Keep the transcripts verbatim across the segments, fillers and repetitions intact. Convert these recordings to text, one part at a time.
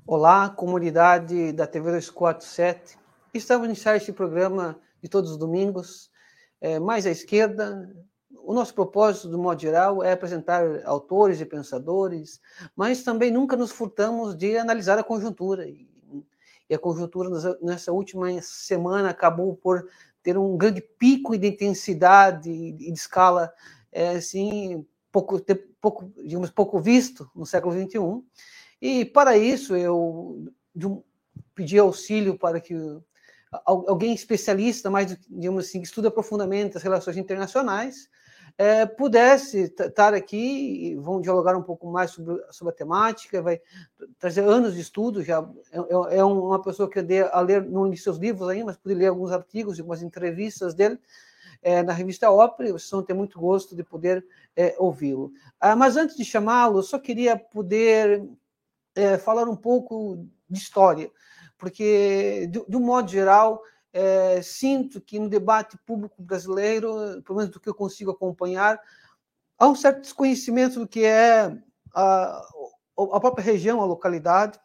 Olá, comunidade da T V dois quatro sete. Estamos a iniciar este programa de todos os domingos, é, mais à esquerda. O nosso propósito, do modo geral, é apresentar autores e pensadores, mas também nunca nos furtamos de analisar a conjuntura. E a conjuntura, nessa última semana, acabou por ter um grande pico de intensidade e de escala, é, assim, pouco, pouco, digamos, pouco visto no século vinte e um. E, para isso, eu pedi auxílio para que alguém especialista, mais, digamos assim, que estuda profundamente as relações internacionais, é, pudesse estar aqui e vão dialogar um pouco mais sobre, sobre a temática, vai trazer anos de estudo, já é, é uma pessoa que eu dei a ler, não li seus livros ainda, mas pude ler alguns artigos e algumas entrevistas dele, É, na revista Ópera, vocês vão ter muito gosto de poder é, ouvi-lo. Ah, mas antes de chamá-lo, eu só queria poder é, falar um pouco de história, porque, de, de um modo geral, é, sinto que no debate público brasileiro, pelo menos do que eu consigo acompanhar, há um certo desconhecimento do que é a, a própria região, a localidade.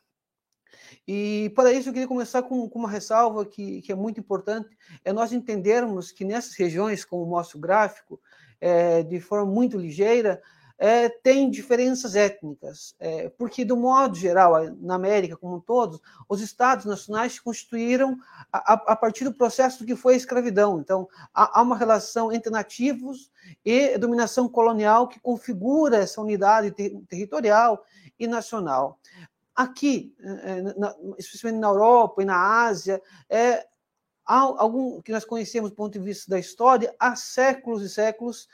E, para isso, eu queria começar com, com uma ressalva que, que é muito importante, é nós entendermos que nessas regiões, como mostra o gráfico, é, de forma muito ligeira, é, tem diferenças étnicas, é, porque, do modo geral, na América como um todo, os estados nacionais se constituíram a, a partir do processo do que foi a escravidão. Então, há, há uma relação entre nativos e dominação colonial que configura essa unidade ter, territorial e nacional. Aqui, especialmente na Europa e na Ásia, é, há algum que nós conhecemos do ponto de vista da história, há séculos e séculos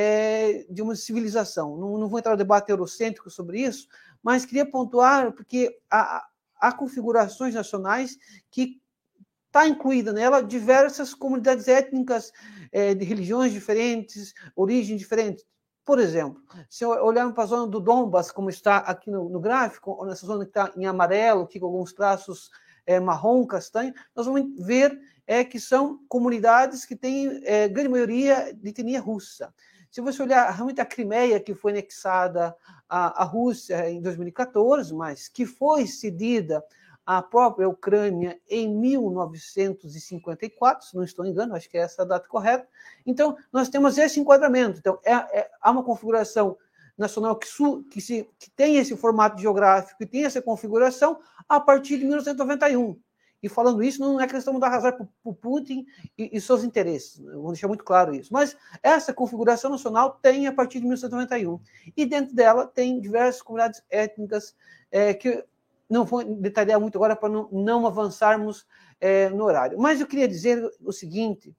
é, de uma civilização. Não, não vou entrar no debate eurocêntrico sobre isso, mas queria pontuar porque há, há configurações nacionais que está incluída nela diversas comunidades étnicas é, de religiões diferentes, origens diferentes. Por exemplo, se olharmos para a zona do Donbas, como está aqui no, no gráfico, ou nessa zona que está em amarelo, aqui com alguns traços é, marrom, castanho, nós vamos ver é, que são comunidades que têm é, grande maioria de etnia russa. Se você olhar realmente a Crimeia, que foi anexada à, à Rússia em dois mil e quatorze, mas que foi cedida à própria Ucrânia em mil novecentos e cinquenta e quatro, se não estou enganado, acho que é essa a data correta. Então, nós temos esse enquadramento. Então, é, é, há uma configuração nacional que, su, que, se, que tem esse formato geográfico e tem essa configuração a partir de mil novecentos e noventa e um. E, falando isso, não é questão de dar razão para o Putin e, e seus interesses. Vou deixar muito claro isso. Mas essa configuração nacional tem a partir de mil novecentos e noventa e um. E, dentro dela, tem diversas comunidades étnicas é, que não vou detalhar muito agora para não, não avançarmos é, no horário. Mas eu queria dizer o seguinte,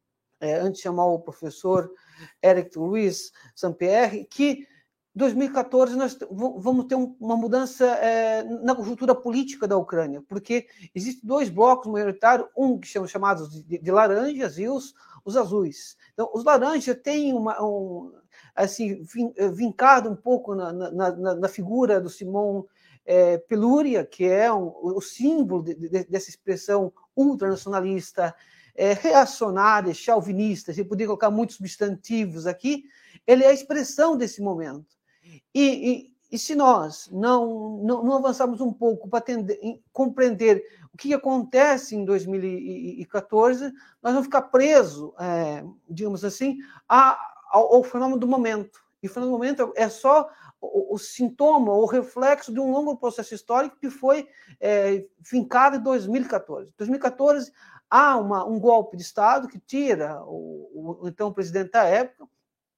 é, antes de chamar o professor Eric Luiz Sampierre, que em dois mil e quatorze nós vamos ter uma mudança é, na conjuntura política da Ucrânia, porque existem dois blocos maioritários, um que são chamados de, de laranjas e os, os azuis. Então, os laranjas têm uma, um, assim, vincado um pouco na, na, na, na figura do Simão É, Pelúria, que é um, o símbolo de, de, dessa expressão ultranacionalista, é, reacionária, chauvinista, você poderia colocar muitos substantivos aqui, ele é a expressão desse momento. E, e, e se nós não, não, não avançarmos um pouco para atender, compreender o que acontece em dois mil e quatorze, nós vamos ficar presos, é, digamos assim, a, ao, ao fenômeno do momento. E o fenômeno do momento é só o, o sintoma, o reflexo de um longo processo histórico que foi é, fincado em dois mil e quatorze. Em dois mil e quatorze, há uma, um golpe de Estado que tira o, o então presidente da época,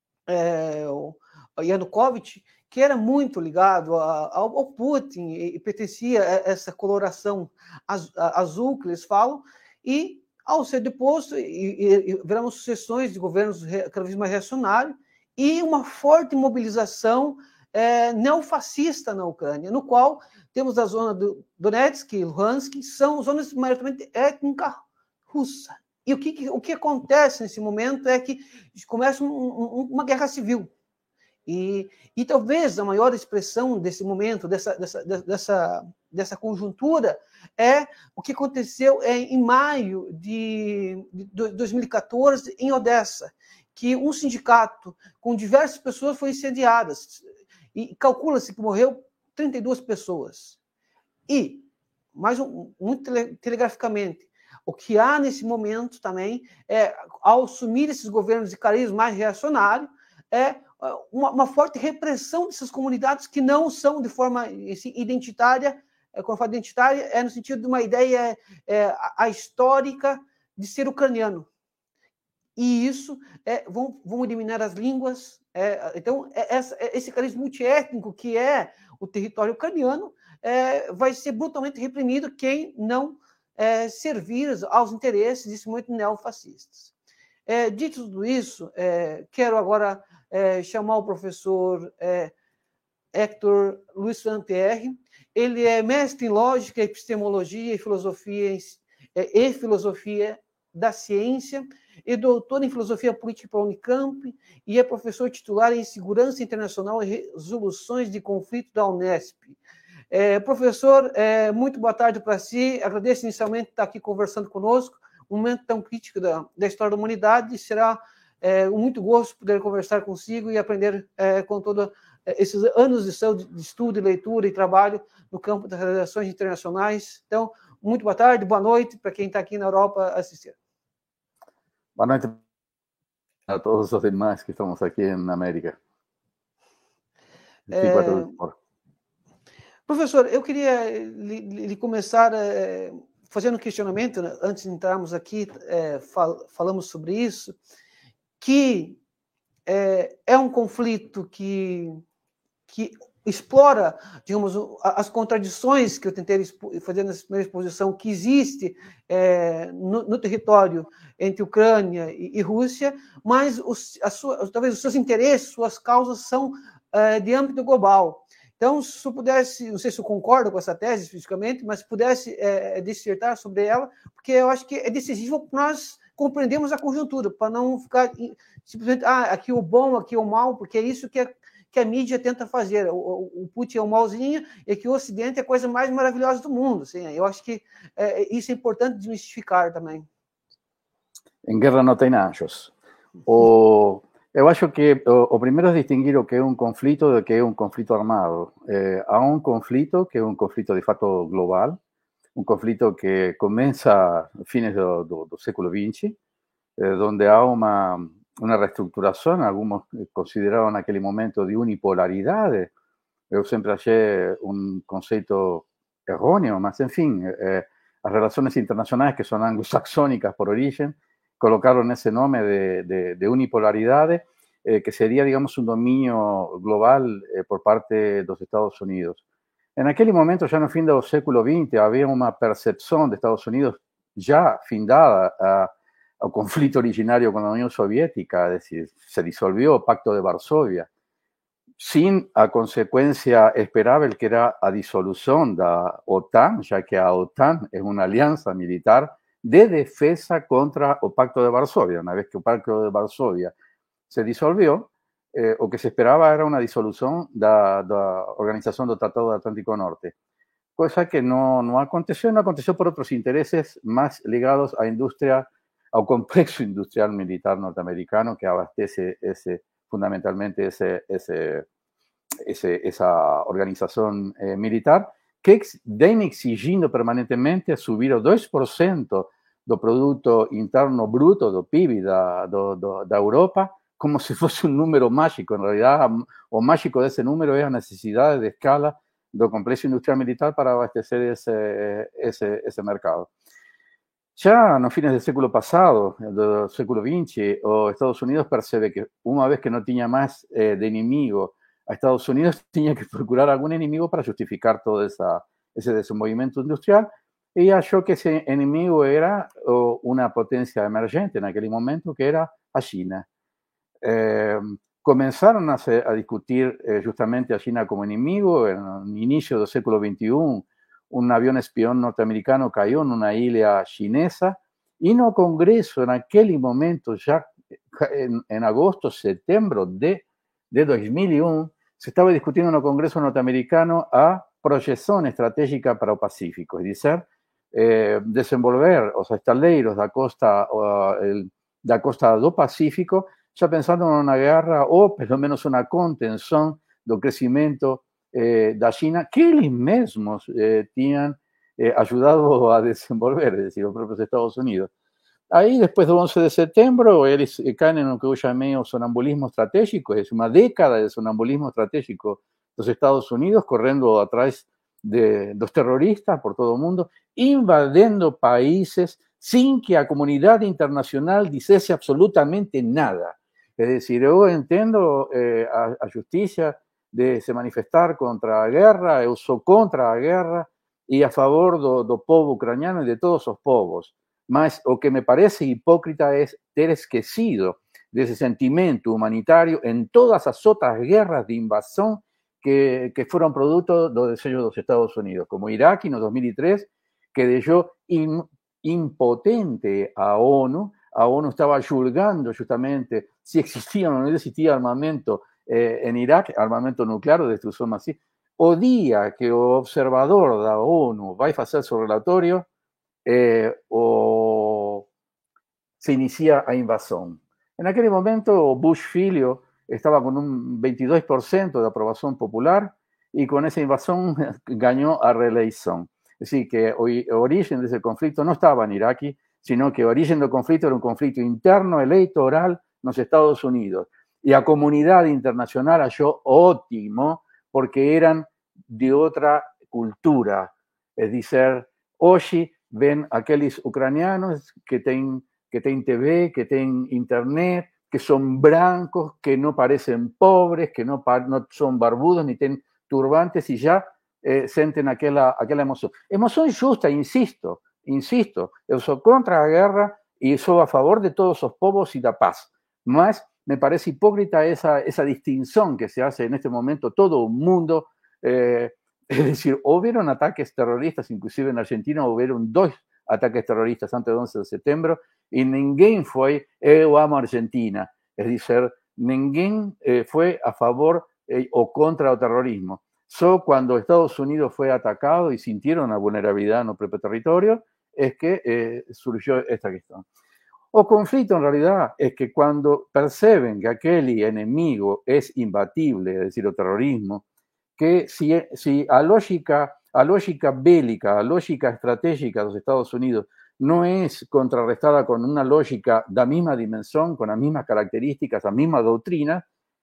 é, o Yanukovych, que era muito ligado a, ao, ao Putin e pertencia a essa coloração azul que eles falam, e ao ser deposto, e, e, viraram sucessões de governos cada vez mais reacionários, e uma forte mobilização é, neofascista na Ucrânia, no qual temos a zona do Donetsk e Luhansk, são zonas maioritariamente étnicas russa. E o que, o que acontece nesse momento é que começa um, um, uma guerra civil. E, e talvez a maior expressão desse momento, dessa, dessa, dessa, dessa conjuntura, é o que aconteceu em maio de, de dois mil e quatorze em Odessa, que um sindicato com diversas pessoas foi incendiado. E calcula-se que morreu trinta e duas pessoas. E mais um, muito tele, telegraficamente, o que há nesse momento também é, ao assumir esses governos de cariz mais reacionário, é uma, uma forte repressão dessas comunidades que não são de forma assim, identitária. Quando eu falo identitária, é no sentido de uma ideia é, a, a histórica de ser ucraniano. E isso é, vão, vão eliminar as línguas. É, então, é, essa, esse cariz multiétnico que é o território ucraniano é, vai ser brutalmente reprimido quem não é, servir aos interesses desse movimento neofascistas. É, dito tudo isso, é, quero agora é, chamar o professor é, Héctor Luiz Pierre. Ele é mestre em lógica, epistemologia e filosofia, é, e filosofia da ciência, e doutor em filosofia política pela Unicamp, e é professor titular em segurança internacional e resoluções de conflito da Unesp. É, professor, é, muito boa tarde para si. Agradeço inicialmente estar aqui conversando conosco. Um momento tão crítico da, da história da humanidade. Será é, um muito gosto poder conversar consigo e aprender é, com todos é, esses anos de, seu, de estudo, leitura e trabalho no campo das relações internacionais. Então, muito boa tarde, boa noite para quem está aqui na Europa assistindo. Boa noite a todos os demais que estamos aqui na América. É... Professor, eu queria lhe, lhe começar é, fazendo um questionamento, né? Antes de entrarmos aqui, é, fal, falamos sobre isso, que é, é um conflito que, que explora, digamos, as contradições que eu tentei fazer nessa primeira exposição, que existe é, no, no território entre Ucrânia e, e Rússia, mas os, a sua, talvez os seus interesses, suas causas são é, de âmbito global. Então, se eu pudesse, não sei se eu concordo com essa tese especificamente, mas se pudesse é, dissertar sobre ela, porque eu acho que é decisivo para nós compreendermos a conjuntura, para não ficar simplesmente, ah, aqui o bom, aqui o mal, porque é isso que a, que a mídia tenta fazer. O, o Putin é o malzinho e que o Ocidente é a coisa mais maravilhosa do mundo. Assim, eu acho que é, isso é importante desmistificar também. Em guerra não tem anjos. O... Eu acho que o, o primeiro é distinguir o que é um conflito do que é um conflito armado. Eh, há um conflito que é um conflito de fato global, um conflito que começa a fines do, do, do século vinte, eh, onde há uma, uma reestruturação, alguns consideraram naquele momento de unipolaridade. Eu sempre achei um conceito errôneo, mas enfim, eh, as relações internacionais que são anglo-saxônicas por origem, colocaron ese nombre de, de, de unipolaridad, eh, que sería, digamos, un dominio global eh, por parte de los Estados Unidos. En aquel momento, ya en el fin del século veinte, había una percepción de Estados Unidos ya findada a, al conflicto originario con la Unión Soviética, es decir, se disolvió el Pacto de Varsovia, sin a consecuencia esperable que era a disolución de la OTAN, ya que la OTAN es una alianza militar de defensa contra el Pacto de Varsovia. Una vez que el Pacto de Varsovia se disolvió, eh, lo que se esperaba era una disolución de la Organización del Tratado del Atlántico Norte, cosa que no, no aconteció, no aconteció por otros intereses más ligados a industria, al complejo industrial militar norteamericano que abastece ese, fundamentalmente ese, ese, ese, esa organización eh, militar, que vem exigindo permanentemente subir o dois por cento do produto interno bruto, do P I B da, do, do, da Europa, como se fosse um número mágico. En realidad, o mágico desse número é a necessidade de escala do complexo industrial militar para abastecer esse, esse, esse mercado. Já no fines do século passado, do século vinte, os Estados Unidos percebe que uma vez que não tinha mais eh, de inimigo a Estados Unidos, tenía que procurar algún enemigo para justificar todo esa, ese desenvolvimiento industrial, y achó que ese enemigo era oh, una potencia emergente en aquel momento, que era a China. Eh, comenzaron a, a discutir eh, justamente a China como enemigo. En el inicio del século veintiuno, un avión espión norteamericano cayó en una isla chinesa, y en el Congreso, en aquel momento, ya en, en agosto, septiembre de, de dos mil uno, se estaba discutiendo en el Congreso norteamericano a proyección estratégica para el Pacífico, es decir, eh, desenvolver os estaleiros da costa, uh, el, da costa do Pacífico, ya pensando en una guerra o, pelo menos, una contención do crecimiento eh, da China, que eles mesmos eh, tinham eh, ayudado a desenvolver, es decir, los propios Estados Unidos. Aí, depois do onze de setembro, eles caem no que eu chamei o sonambulismo estratégico, é uma década de sonambulismo estratégico dos Estados Unidos, correndo atrás de, dos terroristas por todo o mundo, invadindo países sin que a comunidade internacional dissesse absolutamente nada. Es decir, eu entendo eh, a, a justiça de se manifestar contra a guerra, eu sou contra a guerra e a favor do, do povo ucraniano e de todos os povos. Mas o que me parece hipócrita es ter esquecido desse sentimento humanitario en todas as outras guerras de invasão que, que foram produto do desejo dos Estados Unidos, como Irak no dos mil três, que deixou in, impotente a ONU. A ONU estaba julgando justamente si existía o no existía armamento eh, en Irak, armamento nuclear o destrucción masiva. O día que o observador da ONU vai facer su relatorio, eh, o se inicia a invasão. En aquel momento, Bush filho estaba con un veintidós por ciento de aprobación popular y con esa invasión ganó a reeleição. Es decir, que el origen de ese conflicto no estaba en Irak, sino que el origen del conflicto era un conflicto interno electoral en los Estados Unidos. Y la comunidad internacional halló ótimo porque eran de otra cultura. Es decir, hoy ven aquellos ucranianos que tienen que tienen T V, que tienen internet, que son blancos, que no parecen pobres, que no, no son barbudos ni tienen turbantes y ya eh, sienten aquella, aquella emoción. Emoción justa, insisto, insisto, yo soy contra la guerra y soy a favor de todos los povos y la paz. Mas me parece hipócrita esa, esa distinción que se hace en este momento todo el mundo. Eh, es decir, hubieron ataques terroristas, inclusive en Argentina hubieron dos ataques terroristas antes del once de setembro, y ninguém fue, eu amo Argentina, es decir, ninguém eh, fue a favor eh, o contra el terrorismo. Solo cuando Estados Unidos fue atacado y sintieron la vulnerabilidad en el propio territorio, es que eh, surgió esta cuestión. O conflicto en realidad es que cuando perciben que aquel enemigo es imbatible, es decir, el terrorismo, que si, si a lógica A lógica bélica, a lógica estratégica de los Estados Unidos no es contrarrestada con una lógica de la misma dimensión, con las mismas características, la misma doctrina,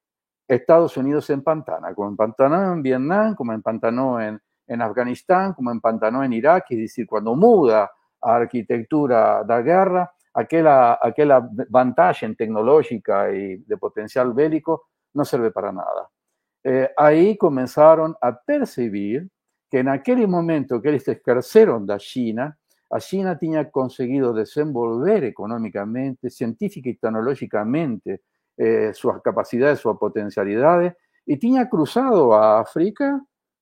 Estados Unidos se empantana, como empantanó en Vietnam, como empantanó en, en Afganistán, como empantanó en Irak, es decir, cuando muda a arquitectura de guerra, aquella, aquella ventaja tecnológica y de potencial bélico no sirve para nada. Eh, ahí comenzaron a percibir que en aquel momento que eles escarceron da China, a China tenía conseguido desenvolver económicamente, científica y tecnológicamente eh, sus capacidades, sus potencialidades, y tenía cruzado a África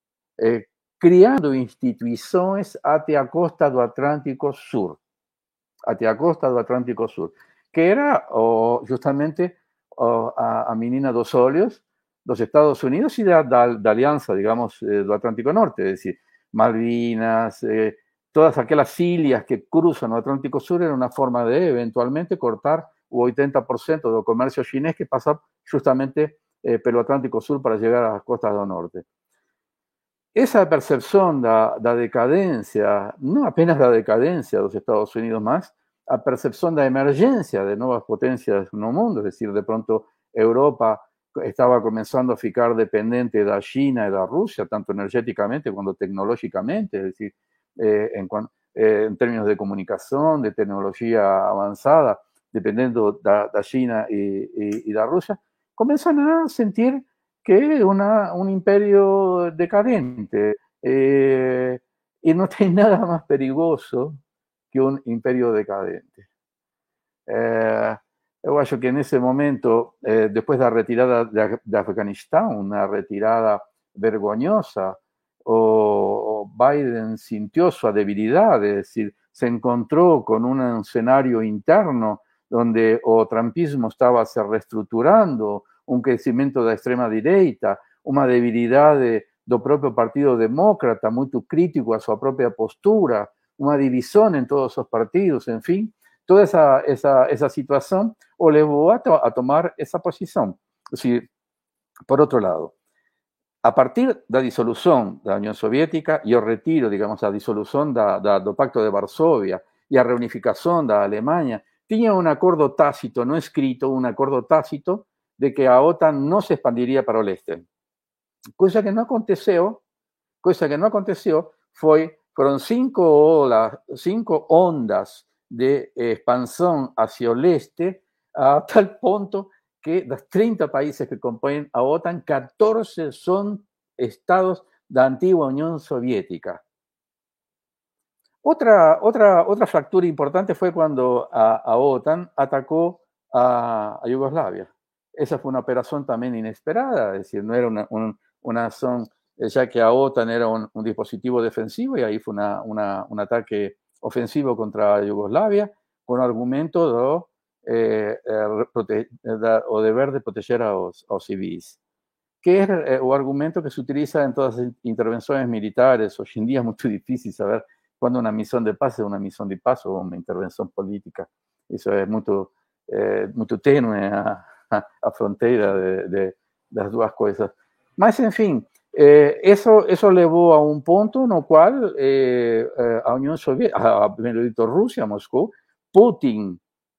eh, criando instituciones hacia a costa do Atlántico Sur, hacia a costa do Atlántico Sur, que era oh, justamente oh, a, a menina dos olhos, los Estados Unidos y de la alianza, digamos, eh, del Atlántico Norte, es decir, Malvinas, eh, todas aquellas ilhas que cruzan el Atlántico Sur era una forma de eventualmente cortar el ochenta por ciento del comercio chinés que pasa justamente eh, pelo Atlántico Sur para llegar a las costas del norte. Esa percepción de la decadencia, no apenas la decadencia de los Estados Unidos más, la percepción de la emergencia de nuevas potencias en el mundo, es decir, de pronto Europa estaba comenzando a ficar dependiente de China y de Rusia, tanto energéticamente como tecnológicamente, es decir, eh, en, eh, en términos de comunicación, de tecnología avanzada, dependiendo de, de China y, y, y de Rusia, comienzan a sentir que es una, un imperio decadente eh, y no hay nada más peligroso que un imperio decadente. Eh, Yo acho que en ese momento, eh, después de la retirada de, de Afganistán, una retirada vergonzosa, o, o Biden sintió su debilidad, es decir, se encontró con un escenario interno donde o trumpismo estaba se reestructurando, un crecimiento de extrema derecha, una debilidad de, do propio Partido Demócrata, muy crítico a su propia postura, una división en todos esos partidos, en fin, toda esa, esa, esa situación o le llevó a, to a tomar esa posición. Es decir, por otro lado, a partir da dissolução da União Soviética e o retiro, digamos, a dissolução da, da, do Pacto de Varsóvia e a reunificação da Alemanha, tinha um acordo tácito, não escrito, um acordo tácito de que a OTAN não se expandiria para o leste. Coisa que não aconteceu, coisa que não aconteceu foi, foram cinco, olas, cinco ondas de expansão hacia o leste, a tal ponto que dos trinta países que compõem a OTAN, catorce son estados da antigua Unión Soviética. Otra, otra, otra fractura importante fue cuando a, a OTAN atacó a, a Yugoslavia. Esa fue una operación también inesperada, es decir, no era una, un, una zona, ya que a OTAN era un, un dispositivo defensivo y ahí fue una, una, un ataque ofensivo contra Yugoslavia con argumento de Eh, eh, prote da, o deber de proteger aos, aos civis, que é eh, o argumento que se utiliza en todas as intervenções militares. Hoje em dia é muito difícil saber quando uma missão de paz é uma missão de paz ou uma intervenção política. Isso é muito, eh, muito tênue a, a, a fronteira de, de, das duas coisas. Mas, enfim, eh, isso, isso levou a um ponto no qual eh, a União Soviética, a, a, melhor dito, Rússia, Moscou, Putin,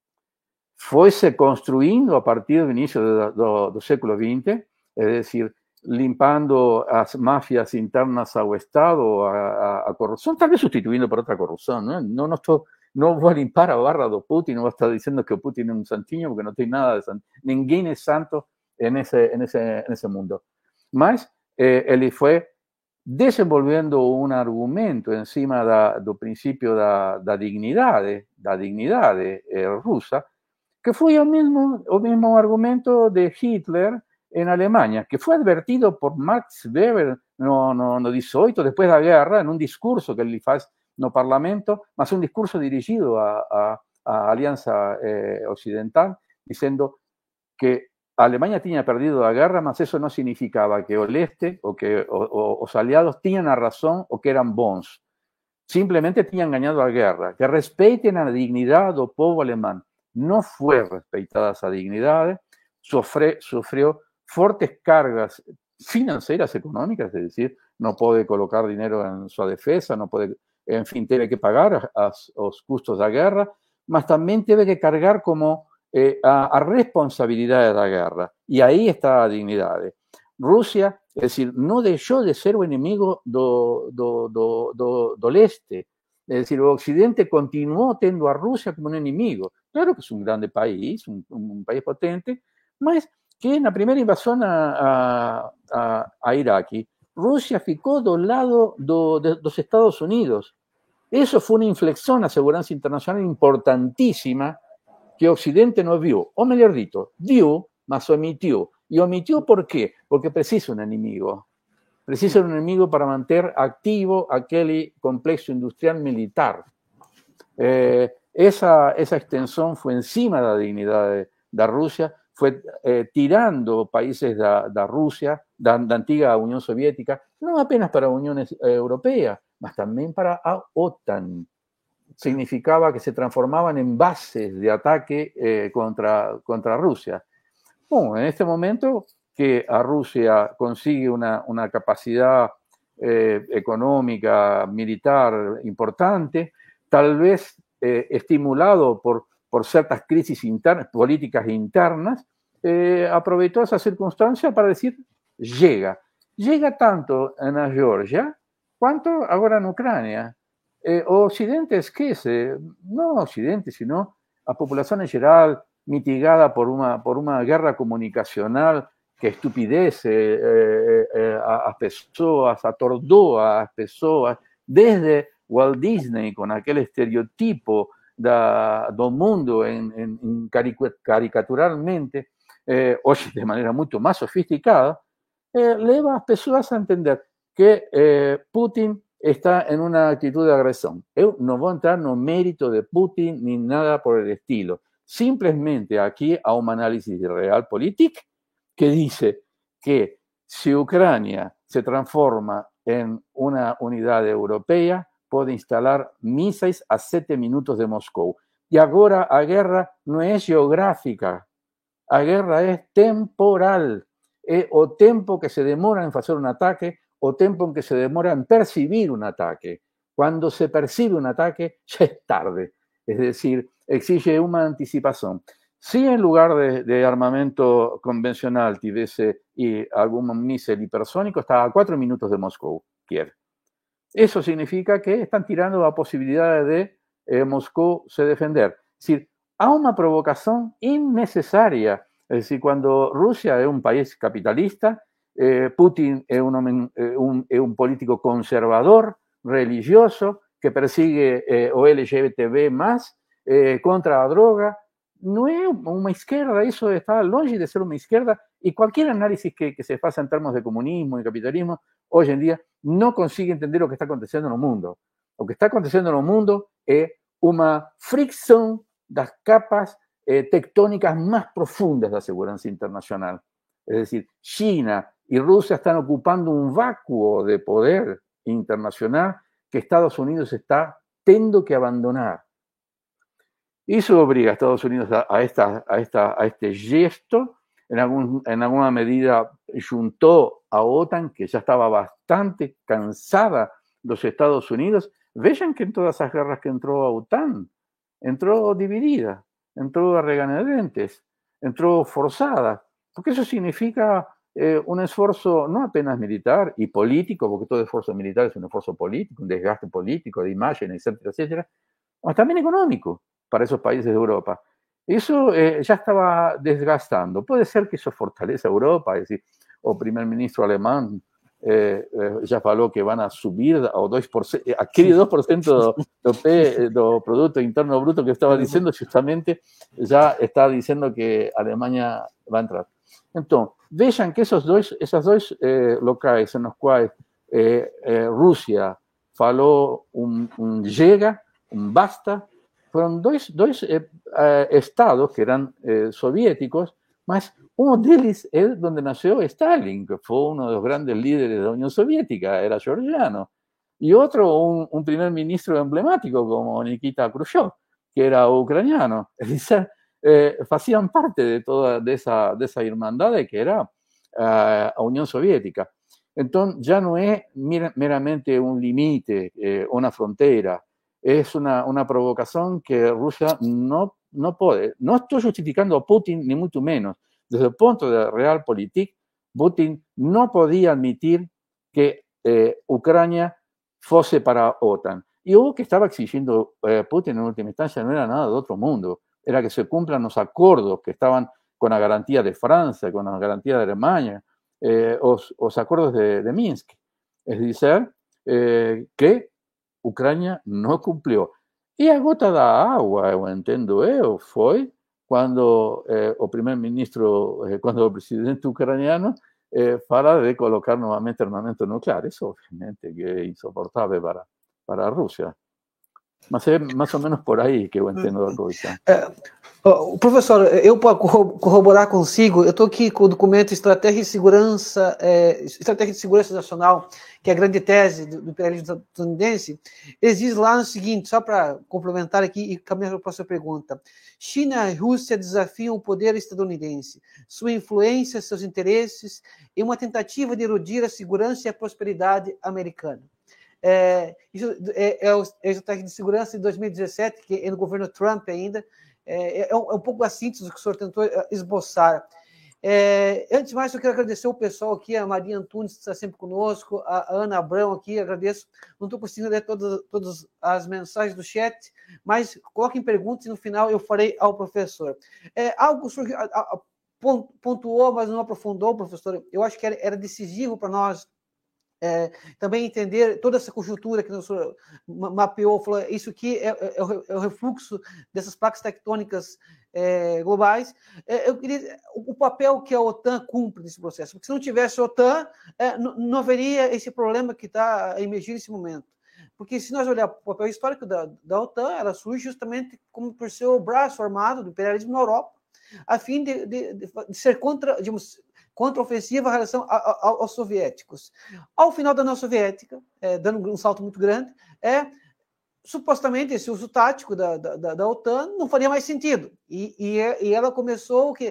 foi-se construindo a partir do início do, do, do século vinte, é decir, limpando as máfias internas ao Estado, a, a, a corrupção, talvez substituindo por outra corrupção. Não, não, não, estou, não vou limpar a barra do Putin, não vou estar dizendo que o Putin é um santinho, porque não tem nada de santo. Ninguém é santo nesse, nesse, nesse mundo. Mas eh, ele foi desenvolvendo um argumento em cima da, do princípio da, da dignidade, da dignidade eh, russa, que foi o mesmo, o mesmo argumento de Hitler en Alemania, que fue advertido por Max Weber no, no, no dezoito, después da guerra, en un discurso que ele faz no Parlamento, mas un discurso dirigido a, a, a Alianza eh, Occidental, diciendo que a Alemania tinha perdido a guerra, mas eso no significaba que o leste o que o, o, os aliados tinham a razón o que eran bons. Simplemente tinham ganhado a guerra. Que respeiten a dignidade do povo alemán. No fue respeitada esa dignidad, sufre, sufrió fuertes cargas financieras, económicas, es decir, no puede colocar dinero en su defensa, no puede, en fin, tiene que pagar a, a, los costos de la guerra, mas también tiene que cargar como eh, a, a responsabilidad de la guerra. Y ahí está la dignidad. Rusia, es decir, no dejó de ser un enemigo do, do, do, do, do leste. Es decir, el Occidente continuó teniendo a Rusia como un enemigo. Claro que es un grande país, un, un país potente, mas que na primeira invasão a, a, a Iraque, Rússia ficou do lado do, de, dos Estados Unidos. Isso foi uma inflexão na segurança internacional importantíssima que o Occidente não viu. Ou melhor dito, viu, mas omitiu. E omitiu por quê? Porque precisa um inimigo. Precisa um inimigo para manter ativo aquele complexo industrial militar. Eh, esa, esa extensión fue encima de la dignidad de, de Rusia, fue eh, tirando países de, de Rusia, de la antigua Unión Soviética, no apenas para la Unión eh, Europea, mas también para la OTAN. Significaba que se transformaban en bases de ataque eh, contra, contra Rusia. Bueno, en este momento que a Rusia consigue una, una capacidad eh, económica, militar importante, tal vez eh, estimulado por, por ciertas crisis internas, políticas internas, eh, aprovechó esa circunstancia para decir, llega. Llega tanto en la Georgia, cuanto ahora en Ucrania. Eh, o Occidente esquece, no Occidente, sino a población en general, mitigada por una, por una guerra comunicacional que estupidece eh, eh, a, a pessoas, atordoa a pessoas, desde Walt Disney, con aquel estereotipo da, do mundo en, en, en caricaturalmente, eh, hoy de manera mucho más sofisticada, eh, lleva a las personas a entender que eh, Putin está en una actitud de agresión. Yo no voy a entrar en el mérito de Putin ni nada por el estilo. Simplemente aquí hay un análisis de realpolitik que dice que si Ucrania se transforma en una unidad europea, puede instalar mísseis a siete minutos de Moscou. Y ahora la guerra no es geográfica, la guerra es temporal. é o tempo que se demora em fazer um ataque, o tempo em que se demora em percibir um ataque. Quando se percibe um ataque, já é tarde. Es decir, exige uma anticipação. Si en lugar de, de armamento convencional tivesse y algún míssil hipersónico, está a cuatro minutos de Moscou, Kiev. Eso significa que están tirando la posibilidad de eh, Moscú se defender. Es decir, hay una provocación innecesaria. Es decir, cuando Rusia es un país capitalista, eh, Putin es un, eh, un, es un político conservador, religioso, que persigue eh, o L G B T B más, eh, contra la droga. No es una izquierda, eso está longe de ser una izquierda, y cualquier análisis que, que se faça en términos de comunismo y capitalismo, hoy en día no consigue entender lo que está aconteciendo en el mundo. Lo que está aconteciendo en el mundo es una fricción de las capas eh, tectónicas más profundas de la seguridad internacional. Es decir, China y Rusia están ocupando un vacuo de poder internacional que Estados Unidos está teniendo que abandonar. Y eso obliga a Estados Unidos a, a, esta, a, esta, a este gesto. En, algún, en alguna medida juntó a OTAN, que ya estaba bastante cansada los Estados Unidos. Vean que en todas esas guerras que entró a OTAN, entró dividida, entró a regañadientes, entró forzada, porque eso significa eh, un esfuerzo no apenas militar y político, porque todo esfuerzo militar es un esfuerzo político, un desgaste político, de imagen, etcétera, etcétera, o también económico para esos países de Europa. Eso eh, ya estaba desgastando. Puede ser que eso fortaleza a Europa, es decir, o primer ministro alemán eh, eh, ya falou que van a subir ao dois por cento, aquele dois por cento do, do, P, do Produto Interno Bruto que estava dizendo, justamente já está dizendo que a Alemanha vai entrar. Então, vejam que esses dois, esses dois eh, locais nos quais eh, eh, Rússia falou um, um chega, um basta, foram dois, dois eh, eh, estados que eram eh, soviéticos, mas uno deles é onde nasceu Stalin, que foi um dos grandes líderes da União Soviética, era georgiano. E outro, um, um primeiro-ministro emblemático como Nikita Khrushchev, que era ucraniano. É dizer, eh, faziam parte de toda dessa, dessa irmandade que era uh, a União Soviética. Então, já não é meramente um limite, eh, uma fronteira, es una, una provocación que Rusia no, no puede. No estoy justificando a Putin, ni mucho menos. Desde el punto de realpolitik, Putin no podía admitir que eh, Ucrania fuese para OTAN. Y lo que estaba exigiendo eh, Putin en última instancia no era nada de otro mundo, era que se cumplan los acuerdos que estaban con la garantía de Francia, con la garantía de Alemania, eh, los, los acuerdos de, de Minsk. Es decir, eh, que Ucrânia não cumpriu. E a gota da água, eu entendo eu, foi quando eh, o primeiro-ministro, eh, quando o presidente ucraniano eh, fala de colocar novamente armamento nuclear. Isso, obviamente, que é insuportável para, para a Rússia. Mas é mais ou menos por aí que eu entendo a coisa. É, professor, eu para corroborar consigo, eu estou aqui com o documento Estratégia de Segurança, é, Estratégia de Segurança Nacional, que é a grande tese do, do imperialismo estadunidense. Eles dizem lá no seguinte, só para complementar aqui e caminhar para a próxima pergunta. China e Rússia desafiam o poder estadunidense, sua influência, seus interesses, em uma tentativa de erodir a segurança e a prosperidade americana. É, isso é, é, o, é a estratégia de segurança de dois mil e dezessete, que é no governo Trump ainda, é, é, um, é um pouco a síntese do que o senhor tentou esboçar. É, antes de mais, eu quero agradecer o pessoal aqui, a Maria Antunes, que está sempre conosco, a Ana Abrão aqui, agradeço. Não estou conseguindo ler todas, todas as mensagens do chat, mas coloquem perguntas e no final eu farei ao professor. É, algo que o senhor a, a, pontuou, mas não aprofundou, professor, eu acho que era, era decisivo para nós É, também entender toda essa conjuntura que o senhor mapeou, falou, isso aqui é, é, é o refluxo dessas placas tectônicas é, globais. É, eu queria o papel que a OTAN cumpre nesse processo, porque se não tivesse a OTAN, é, não, não haveria esse problema que está a emergir nesse momento. Porque se nós olharmos o papel histórico da, da OTAN, ela surge justamente como por ser o braço armado do imperialismo na Europa, a fim de, de, de, de ser contra, digamos, contra-ofensiva em relação a, a, aos soviéticos. Ao final da União Soviética, é, dando um salto muito grande, é, supostamente esse uso tático da, da, da OTAN não faria mais sentido. E, e, e ela começou o que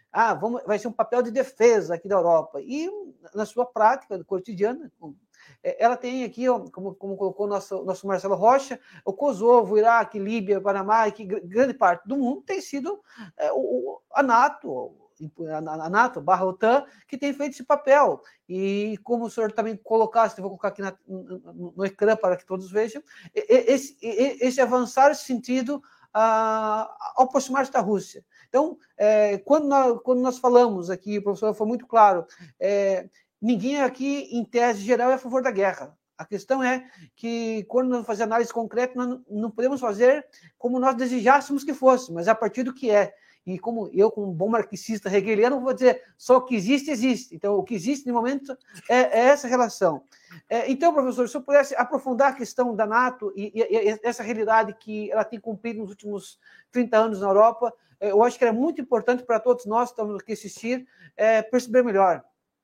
ah, vamos, vai ser um papel de defesa aqui da Europa. E na sua prática cotidiana, ela tem aqui, como, como colocou o nosso, nosso Marcelo Rocha, o Kosovo, Iraque, Líbia, Panamá, e que grande parte do mundo tem sido é, o, a NATO, a NATO barra OTAN, que tem feito esse papel. E como o senhor também colocasse, vou colocar aqui na, no, no ecrã para que todos vejam, esse, esse avançar esse sentido uh, ao aproximar-se da Rússia. Então, é, quando, nós, quando nós falamos aqui, o professor foi muito claro, é, ninguém aqui, em tese geral, é a favor da guerra. A questão é que, quando nós fazemos análise concreta, nós não podemos fazer como nós desejássemos que fosse, mas a partir do que é. E como eu, como um bom marxista hegeliano, vou dizer, só o que existe, existe. Então, o que existe, no momento, é, é essa relação. É, então, professor, se eu pudesse aprofundar a questão da NATO e, e, e essa realidade que ela tem cumprido nos últimos trinta anos na Europa, eu acho que era muito importante para todos nós que estamos aqui assistir, é, perceber melhor.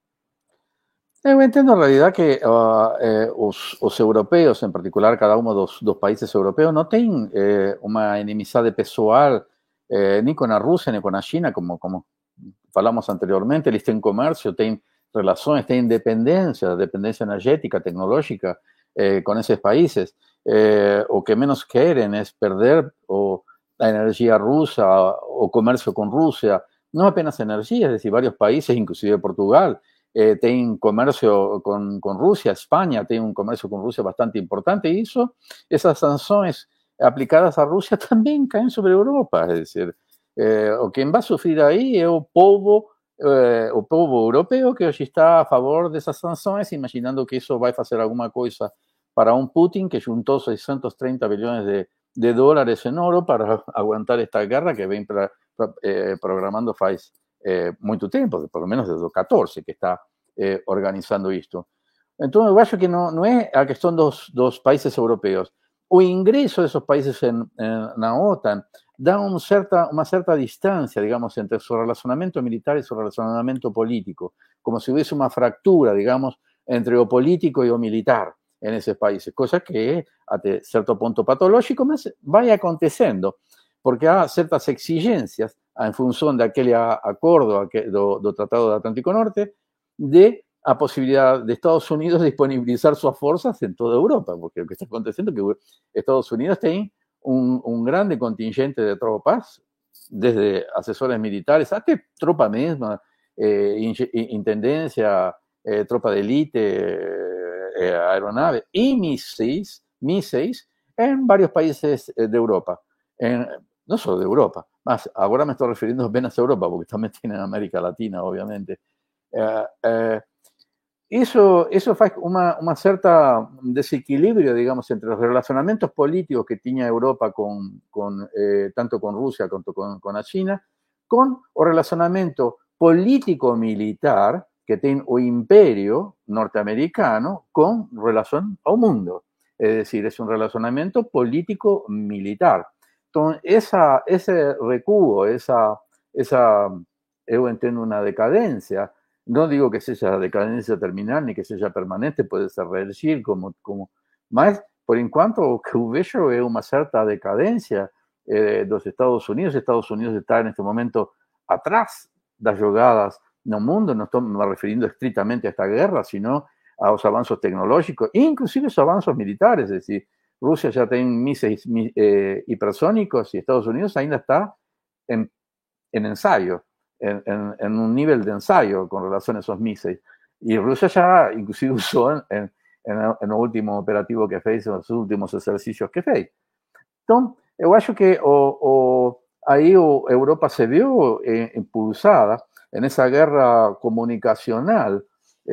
Eu entendo en realidad que uh, eh, os, os europeos, en particular cada uno dos, dos países europeos, no tienen eh, una enemizade pessoal eh, ni con la Rusia ni con la China, como, como falamos anteriormente. Eles têm comercio, têm relaciones, têm dependencia, dependencia energética, tecnológica eh, con esos países. Eh, o que menos quieren es perder o la energía rusa o comercio con Rusia. No apenas energía, es decir, varios países, inclusive Portugal, Eh, tienen comercio con, con Rusia, España tiene un comercio con Rusia bastante importante, y eso, esas sanciones aplicadas a Rusia también caen sobre Europa, es decir, eh, o quien va a sufrir ahí es el pueblo, eh, el pueblo europeo que hoy está a favor de esas sanciones, imaginando que eso va a hacer alguna cosa para un Putin que juntó seiscientos treinta billones de, de dólares en oro para aguantar esta guerra que ven pra, pra, eh, programando faz Eh, muito tempo, por lo menos desde o catorce, que está eh, organizando isto. Então, eu acho que não, não é a questão dos, dos países europeus. O ingresso desses países em, em, na OTAN dá um certa, uma certa distância, digamos, entre seu relacionamento militar e seu relacionamento político, como se houvesse uma fractura, digamos, entre o político e o militar nesses países, coisa que é, até certo ponto, patológico, mas vai acontecendo, porque há certas exigências en función de aquel acuerdo do, do Tratado del Atlántico Norte, de la posibilidad de Estados Unidos disponibilizar sus fuerzas en toda Europa, porque lo que está aconteciendo es que Estados Unidos tiene un, un grande contingente de tropas, desde asesores militares hasta tropa misma, eh, intendencia, eh, tropa de élite, eh, aeronaves y míseis, míseis en varios países de Europa, en, no solo de Europa, más ahora me estoy refiriendo apenas a Europa, porque también tienen América Latina, obviamente. Eh, eh, eso, eso hace una, una cierta desequilibrio, digamos, entre los relacionamientos políticos que tenía Europa con, con, eh, tanto con Rusia como con, con la China, con el relacionamiento político-militar que tiene el imperio norteamericano con relación al mundo. Es decir, es un relacionamiento político-militar. Entonces, esa, ese recuo, esa, esa, yo entiendo una decadencia, no digo que sea decadencia terminal ni que sea permanente, puede ser reelegir, como, como, mas, por enquanto, o que vejo es una cierta decadencia eh, de los Estados Unidos. Estados Unidos está en este momento atrás de las jugadas no mundo, no estoy me refiriendo estrictamente a esta guerra, sino a los avances tecnológicos, inclusive los avances militares, es decir, Rusia ya tiene míseis eh, hipersónicos y Estados Unidos ainda está en, en ensayo, en, en, en, un nivel de ensayo con relación a esos míseis. Y Rusia ya inclusive usó en, en, en, en el último operativo que fez, en los últimos ejercicios que fez. Entonces, yo acho que o, o, ahí o Europa se vio eh, impulsada en esa guerra comunicacional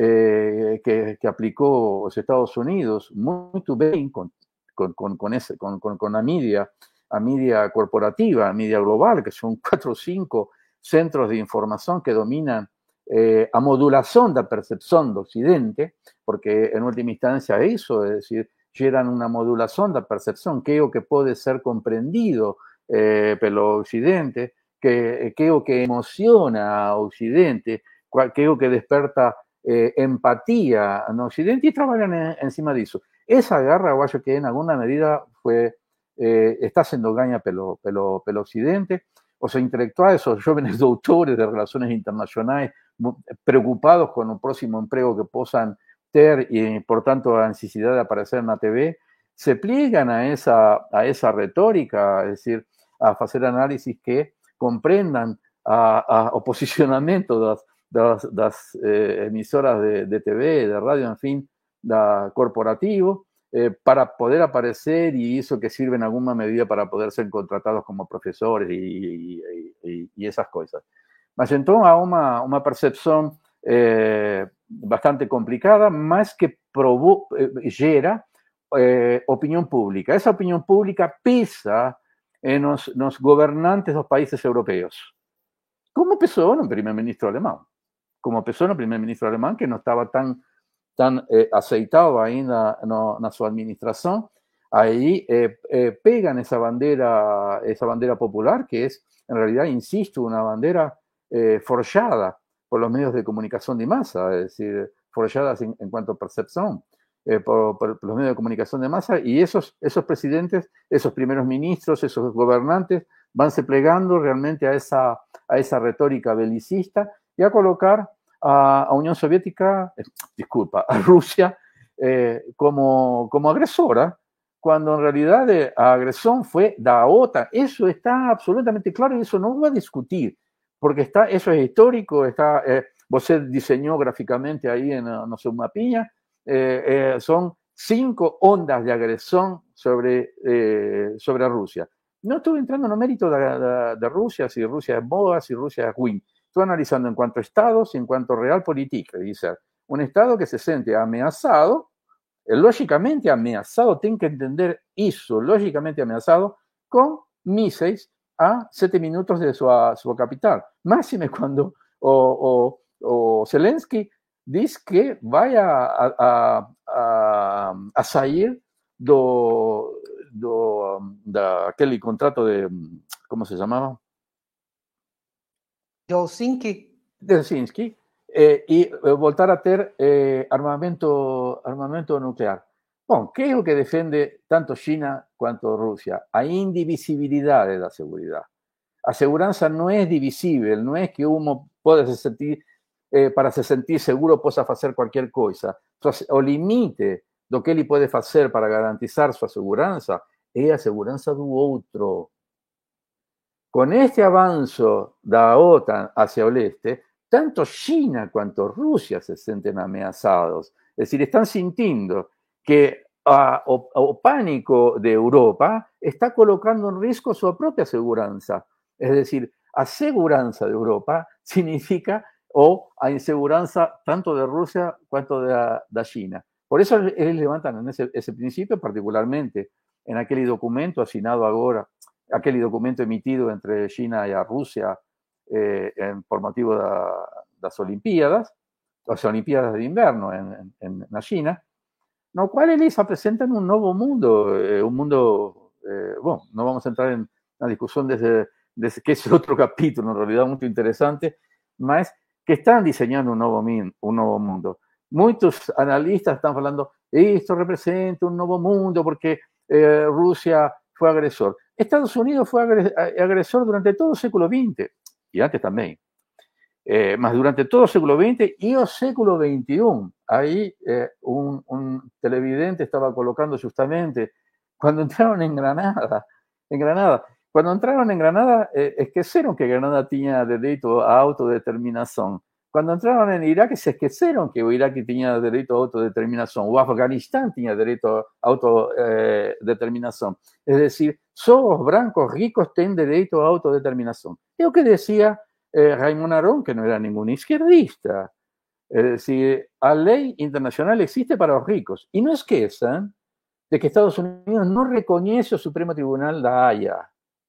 eh, que, que aplicó los Estados Unidos muy bien con Con, con, con, ese, con, con, con la media, a media corporativa, a media global, que son cuatro o cinco centros de información que dominan eh, a modulación de la percepción de Occidente, porque en última instancia eso, es decir, generan una modulación de la percepción, que es lo que puede ser comprendido eh, pelo Occidente, que, que es lo que emociona a Occidente, que es lo que desperta eh, empatía en Occidente, y trabajan en, encima de eso. Esa guerra, yo creo que en alguna medida fue, eh, está siendo gaña pelo, pelo, pelo Occidente, os intelectuais, os jovens doutores de relações internacionais, preocupados com o próximo emprego que possam ter e, portanto, a necessidade de aparecer na T V, se pliegam a essa, a essa retórica, es decir, a fazer análisis que compreendam a, a, o posicionamento das, das, das eh, emisoras de, de T V, de radio, en fin, da corporativo, eh, para poder aparecer y eso que sirve en alguna medida para poder ser contratados como profesores y, y, y, y esas cosas. Mas entonces há uma, uma percepção eh, bastante complicada, mas que provo, eh, gera eh, opinião pública. Essa opinião pública pesa eh, nos, nos gobernantes dos países europeus. Como pesou no primeiro-ministro alemão. Como pesou no primeiro-ministro alemão, que não estava tão, tão eh, aceitado ainda no, na sua administração. Aí eh, eh, pegan essa bandeira, essa bandeira popular, que é, em realidade, insisto, uma bandeira Eh, forjada por los medios de comunicación de masa, es decir, forjadas en, en cuanto a percepción eh, por, por, por los medios de comunicación de masa, y esos, esos presidentes, esos primeros ministros, esos gobernantes van se plegando realmente a esa, a esa retórica belicista y a colocar a, a Unión Soviética, eh, disculpa, a Rusia eh, como, como agresora, cuando en realidad eh, la agresión fue de la OTAN. Eso está absolutamente claro y eso no va a discutir. Porque está, eso es histórico, está, eh, você diseñó gráficamente ahí en no sé, un mapinha, eh, eh, son cinco ondas de agresión sobre, eh, sobre Rusia. No estoy entrando en el mérito de, de, de Rusia, si Rusia es boa, si Rusia es win. Estoy analizando en cuanto a estados y en cuanto a realpolitik. Dice, un estado que se siente amenazado, eh, lógicamente amenazado, tiene que entender eso, lógicamente amenazado, con míseis a siete minutos de su, su capital. Máxime cuando o, o, o Zelensky dice que vaya a, a, a, a sair do, do, da aquele contrato de, ¿cómo se llamaba? De Helsinki. De Helsinki, eh, y eh, voltar a ter eh, armamento, armamento nuclear. Bom, que é o que defende tanto China quanto Rusia? A indivisibilidade da seguridade. A segurança não é divisível, não é que um pode se sentir, eh, para se sentir seguro, possa fazer qualquer coisa. O limite do que ele pode fazer para garantizar sua segurança é a segurança do outro. Com este avanço da OTAN hacia o leste, tanto China quanto Rusia se sentem ameaçados. É decir, estão sentindo que a, o, o pánico de Europa está colocando en riesgo su propia seguranza. Es decir, a seguranza de Europa significa o a inseguranza tanto de Rusia cuanto de, de China. Por eso ellos levantan en ese, ese principio, particularmente en aquel documento asignado ahora, aquel documento emitido entre China y a Rusia eh, en, por motivo de las Olimpiadas, las Olimpiadas de invierno en, en, en la China, no cual ellos presentan un nuevo mundo, eh, un mundo, eh, bueno, no vamos a entrar en la discusión desde, desde que es otro capítulo, en realidad muy interesante, mas que están diseñando un nuevo, un nuevo mundo. Muchos analistas están hablando, esto representa un nuevo mundo porque eh, Rusia fue agresor. Estados Unidos fue agresor durante todo el século veinte, y antes también. Eh, más durante todo el século veinte y el século veintiuno. Ahí eh, un, un televidente estaba colocando justamente cuando entraron en Granada. En Granada. Cuando entraron en Granada, eh, esqueceron que Granada tenía derecho a autodeterminación. Cuando entraron en Irak, se esqueceron que Irak tenía derecho a autodeterminación. O Afganistán tenía derecho a autodeterminación. Es decir, solo los blancos ricos tienen derecho a autodeterminación. Es lo que decía Eh, Raymond Aron, que no era ningún izquierdista. Es decir, la ley internacional existe para los ricos. Y no esqueçan de que Estados Unidos no reconoce el Supremo Tribunal da Haya.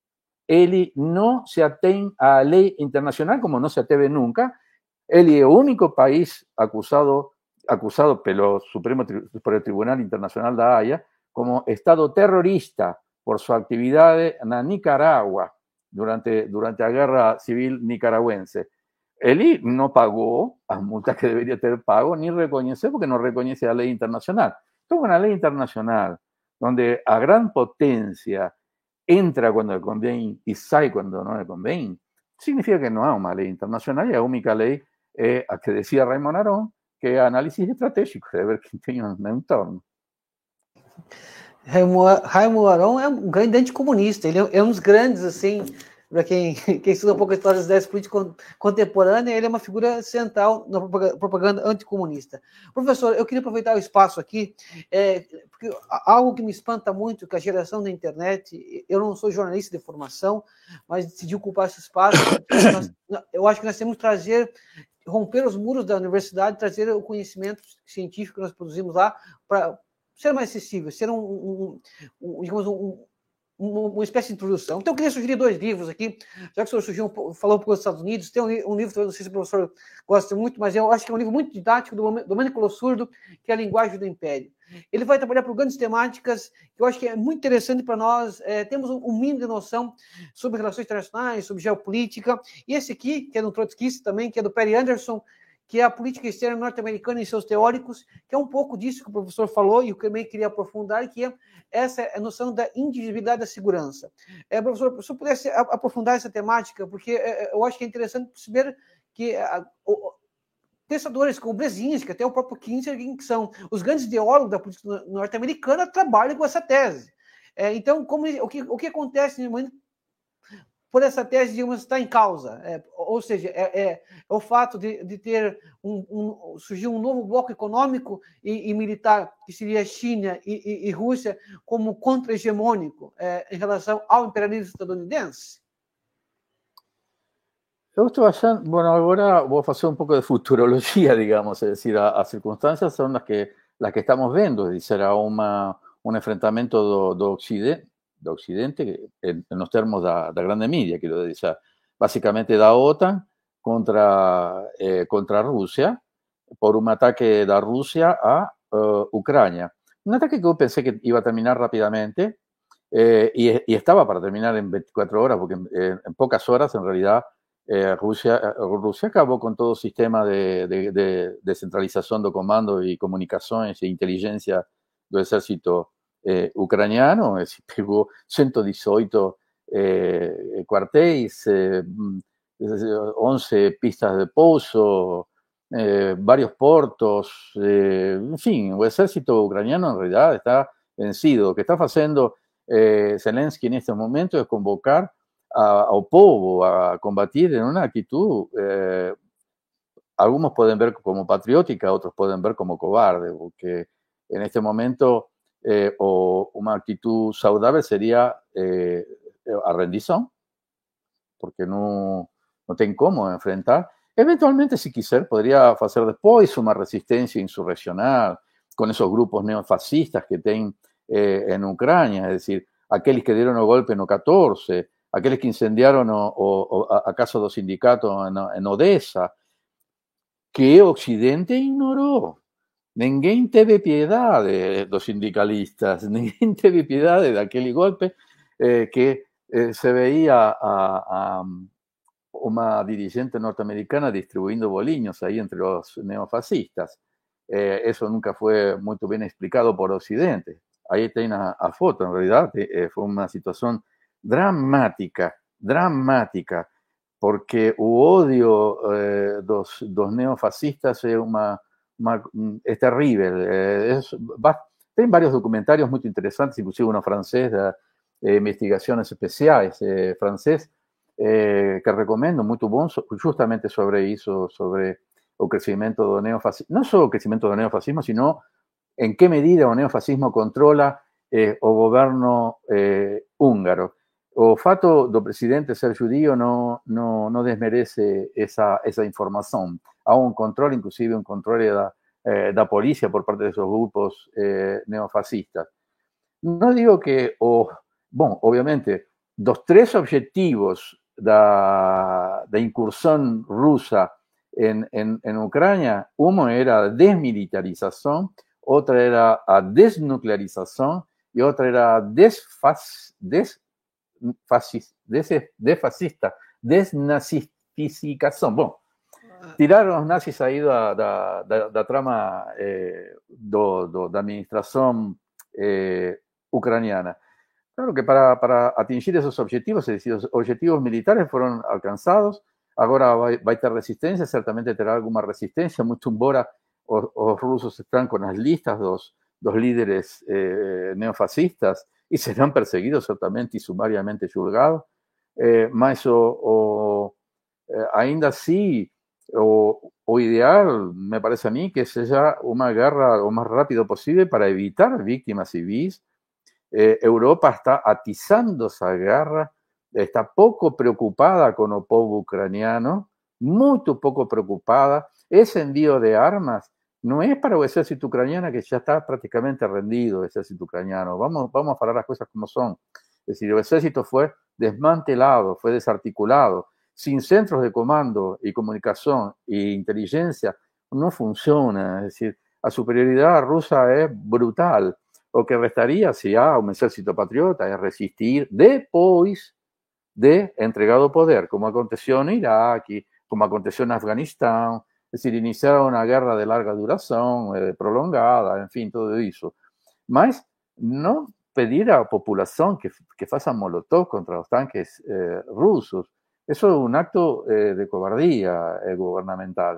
Él no se atén a la ley internacional como no se ateve nunca. Él es el único país acusado, acusado pelo Supremo, por el Tribunal Internacional da Haya como Estado terrorista por su actividad en Nicaragua. Durante, durante la guerra civil nicaragüense. Él no pagó las multas que debería tener pago, ni reconoce, porque no reconoce la ley internacional. Esto es una ley internacional donde a gran potencia entra quando convém e sai quando não convém, significa que não há uma lei internacional e a única lei é a que decía Raymond Aron, que é a análise estratégica, de ver quem tem no entorno. Raymond Aron é um grande anticomunista, ele é um dos grandes, assim, para quem, quem estuda um pouco a história das ideias políticas contemporâneas, ele é uma figura central na propaganda anticomunista. Professor, eu queria aproveitar o espaço aqui, é, porque algo que me espanta muito, que a geração da internet, eu não sou jornalista de formação, mas decidi ocupar esse espaço, nós, eu acho que nós temos que trazer, romper os muros da universidade, trazer o conhecimento científico que nós produzimos lá para ser mais acessível, ser um, um, um digamos, um, um, uma espécie de introdução. Então, eu queria sugerir dois livros aqui, já que o senhor surgiu, falou um pouco dos Estados Unidos, tem um, um livro, não sei se o professor gosta muito, mas eu acho que é um livro muito didático, do Domenico Losurdo, que é A Linguagem do Império. Ele vai trabalhar por grandes temáticas, que eu acho que é muito interessante para nós, é, temos um, um mínimo de noção sobre relações internacionais, sobre geopolítica, e esse aqui, que é do trotskista também, que é do Perry Anderson, que é a política externa norte-americana e seus teóricos, que é um pouco disso que o professor falou, e eu também queria aprofundar, que é essa é a noção da indivisibilidade da segurança. É, professor, se eu pudesse aprofundar essa temática, porque é, eu acho que é interessante perceber que a, o, pensadores como Brzezinski, até o próprio Kissinger, que são os grandes ideólogos da política norte-americana, trabalham com essa tese. É, então, como, o, que, o que acontece no momento por essa tese, digamos, está em causa, é, ou seja, é, é, é o fato de, de ter um, um, surgir um novo bloco econômico e, e militar, que seria a China e, e, e Rússia, como contra-hegemônico é, em relação ao imperialismo estadunidense? Eu estou achando, bueno, agora vou fazer um pouco de futurologia, digamos, es decir, as circunstâncias são as que, las que estamos vendo, es decir, será uma, um enfrentamento do, do Ocidente, do Occidente, en, en los termos da, da grande mídia, quiero decir, básicamente da OTAN contra, eh, contra Rusia, por un ataque da Rusia a uh, Ucrania. Un ataque que yo pensé que iba a terminar rápidamente, eh, y, y estaba para terminar en veinticuatro horas, porque en, en pocas horas, en realidad, eh, Rusia, Rusia acabó con todo sistema de, de, de, de centralización de comando y comunicaciones e inteligencia del ejército Eh, ucraniano, eh, si pegó ciento dieciocho eh, cuartéis, eh, once pistas de pouso, eh, varios portos, eh, en fin, el ejército ucraniano en realidad está vencido. Lo que está haciendo eh, Zelensky en este momento es convocar a, ao povo a combatir en una actitud, eh, algunos pueden ver como patriótica, otros pueden ver como cobarde, porque en este momento Eh, o una actitud saludable sería eh, a rendición, porque no, no tiene cómo enfrentar. Eventualmente, si quiser, podría hacer después una resistencia insurreccional con esos grupos neofascistas que tienen eh, en Ucrania, es decir, aquellos que dieron el golpe en el catorce, aquellos que incendiaron o, o, o a casa dos sindicatos en, en Odessa, que Occidente ignoró. Ninguém teve piedade dos sindicalistas, ninguém teve piedade daquele golpe eh, que eh, se veía a, a uma dirigente norteamericana distribuyendo boliños ahí entre los neofascistas. Eh, eso nunca fue muy bien explicado por Occidente. Ahí tiene a, a foto, en realidad eh, fue una situación dramática, dramática, porque el odio eh, dos, dos neofascistas es una es terrible. Eh, es, va, hay varios documentarios muy interesantes, inclusive uno francés de eh, investigaciones especiales eh, francés, eh, que recomiendo, muy bom, justamente sobre eso, sobre el crecimiento del neofascismo, no solo el crecimiento del neofascismo, sino en qué medida el neofascismo controla eh, el gobierno eh, húngaro. O fato do presidente ser judío no, no, no desmerece esa, esa información. Há un control, inclusive un control da, eh, da policía por parte de esos grupos eh, neofascistas. No digo que, o, bueno, obviamente, los tres objetivos da, da incursión rusa en, en, en Ucrania, uno era desmilitarización, otra era a desnuclearización y otra era desfas, des, fascista, des, desfascista, desnazificación. Bueno, tiraron os nazis aí da, da, da, da trama eh, do, do, da administração eh, ucraniana. Claro que para, para atingir esos objetivos, es decir, los objetivos militares fueron alcanzados, agora vai, vai ter resistência, certamente terá alguma resistência, muito embora os, os russos estão com as listas dos, dos líderes eh, neofascistas e serão perseguidos certamente e sumariamente julgados, eh, mas o, o, eh, ainda assim o, o ideal, me parece a mim, que seja uma guerra o mais rápido possível para evitar vítimas civis. Eh, Europa está atizando esa guerra, está poco preocupada con el pueblo ucraniano, muy poco preocupada. Ese envío de armas no es para el ejército ucraniano, que ya está prácticamente rendido, el ejército ucraniano. Vamos, vamos a hablar las cosas como son. Es decir, el ejército fue desmantelado, fue desarticulado, sin centros de comando y comunicación e inteligencia, no funciona. Es decir, la superioridad rusa es brutal. O que restaría, se há um exército patriota, é resistir depois de entregado o poder, como aconteceu no Iraque, como aconteceu no Afeganistão, es decir, iniciar uma guerra de larga duração, eh, prolongada, enfim, tudo isso. Mas não pedir à população que, que faça molotov contra os tanques eh, russos, isso é um acto eh, de cobardia eh, governamental.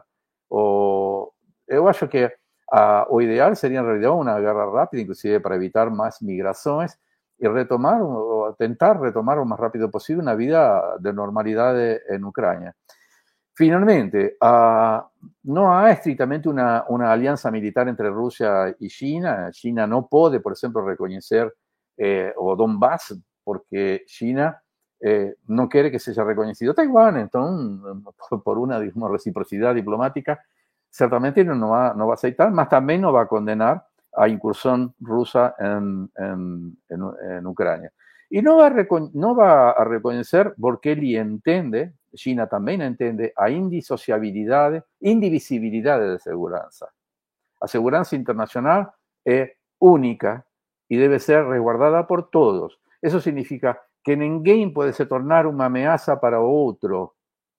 O, eu acho que Uh, o ideal sería en realidad una guerra rápida, inclusive para evitar más migraciones y retomar o tentar retomar lo más rápido posible una vida de normalidad en Ucrania. Finalmente, uh, no hay estrictamente una, una alianza militar entre Rusia y China. China no puede, por ejemplo, reconocer eh, o Donbass porque China eh, no quiere que sea reconocido Taiwán. Entonces, por una digamos, reciprocidad diplomática, certamente no va, no va a aceitar, mas también no va a condenar a incursión rusa en, en, en, en Ucrania. Y no va, a no va a reconocer porque él entiende, China también entiende, a indisociabilidad, indivisibilidad de seguridad. La seguridad internacional es única y debe ser resguardada por todos. Eso significa que ninguém puede se tornar una amenaza para otro.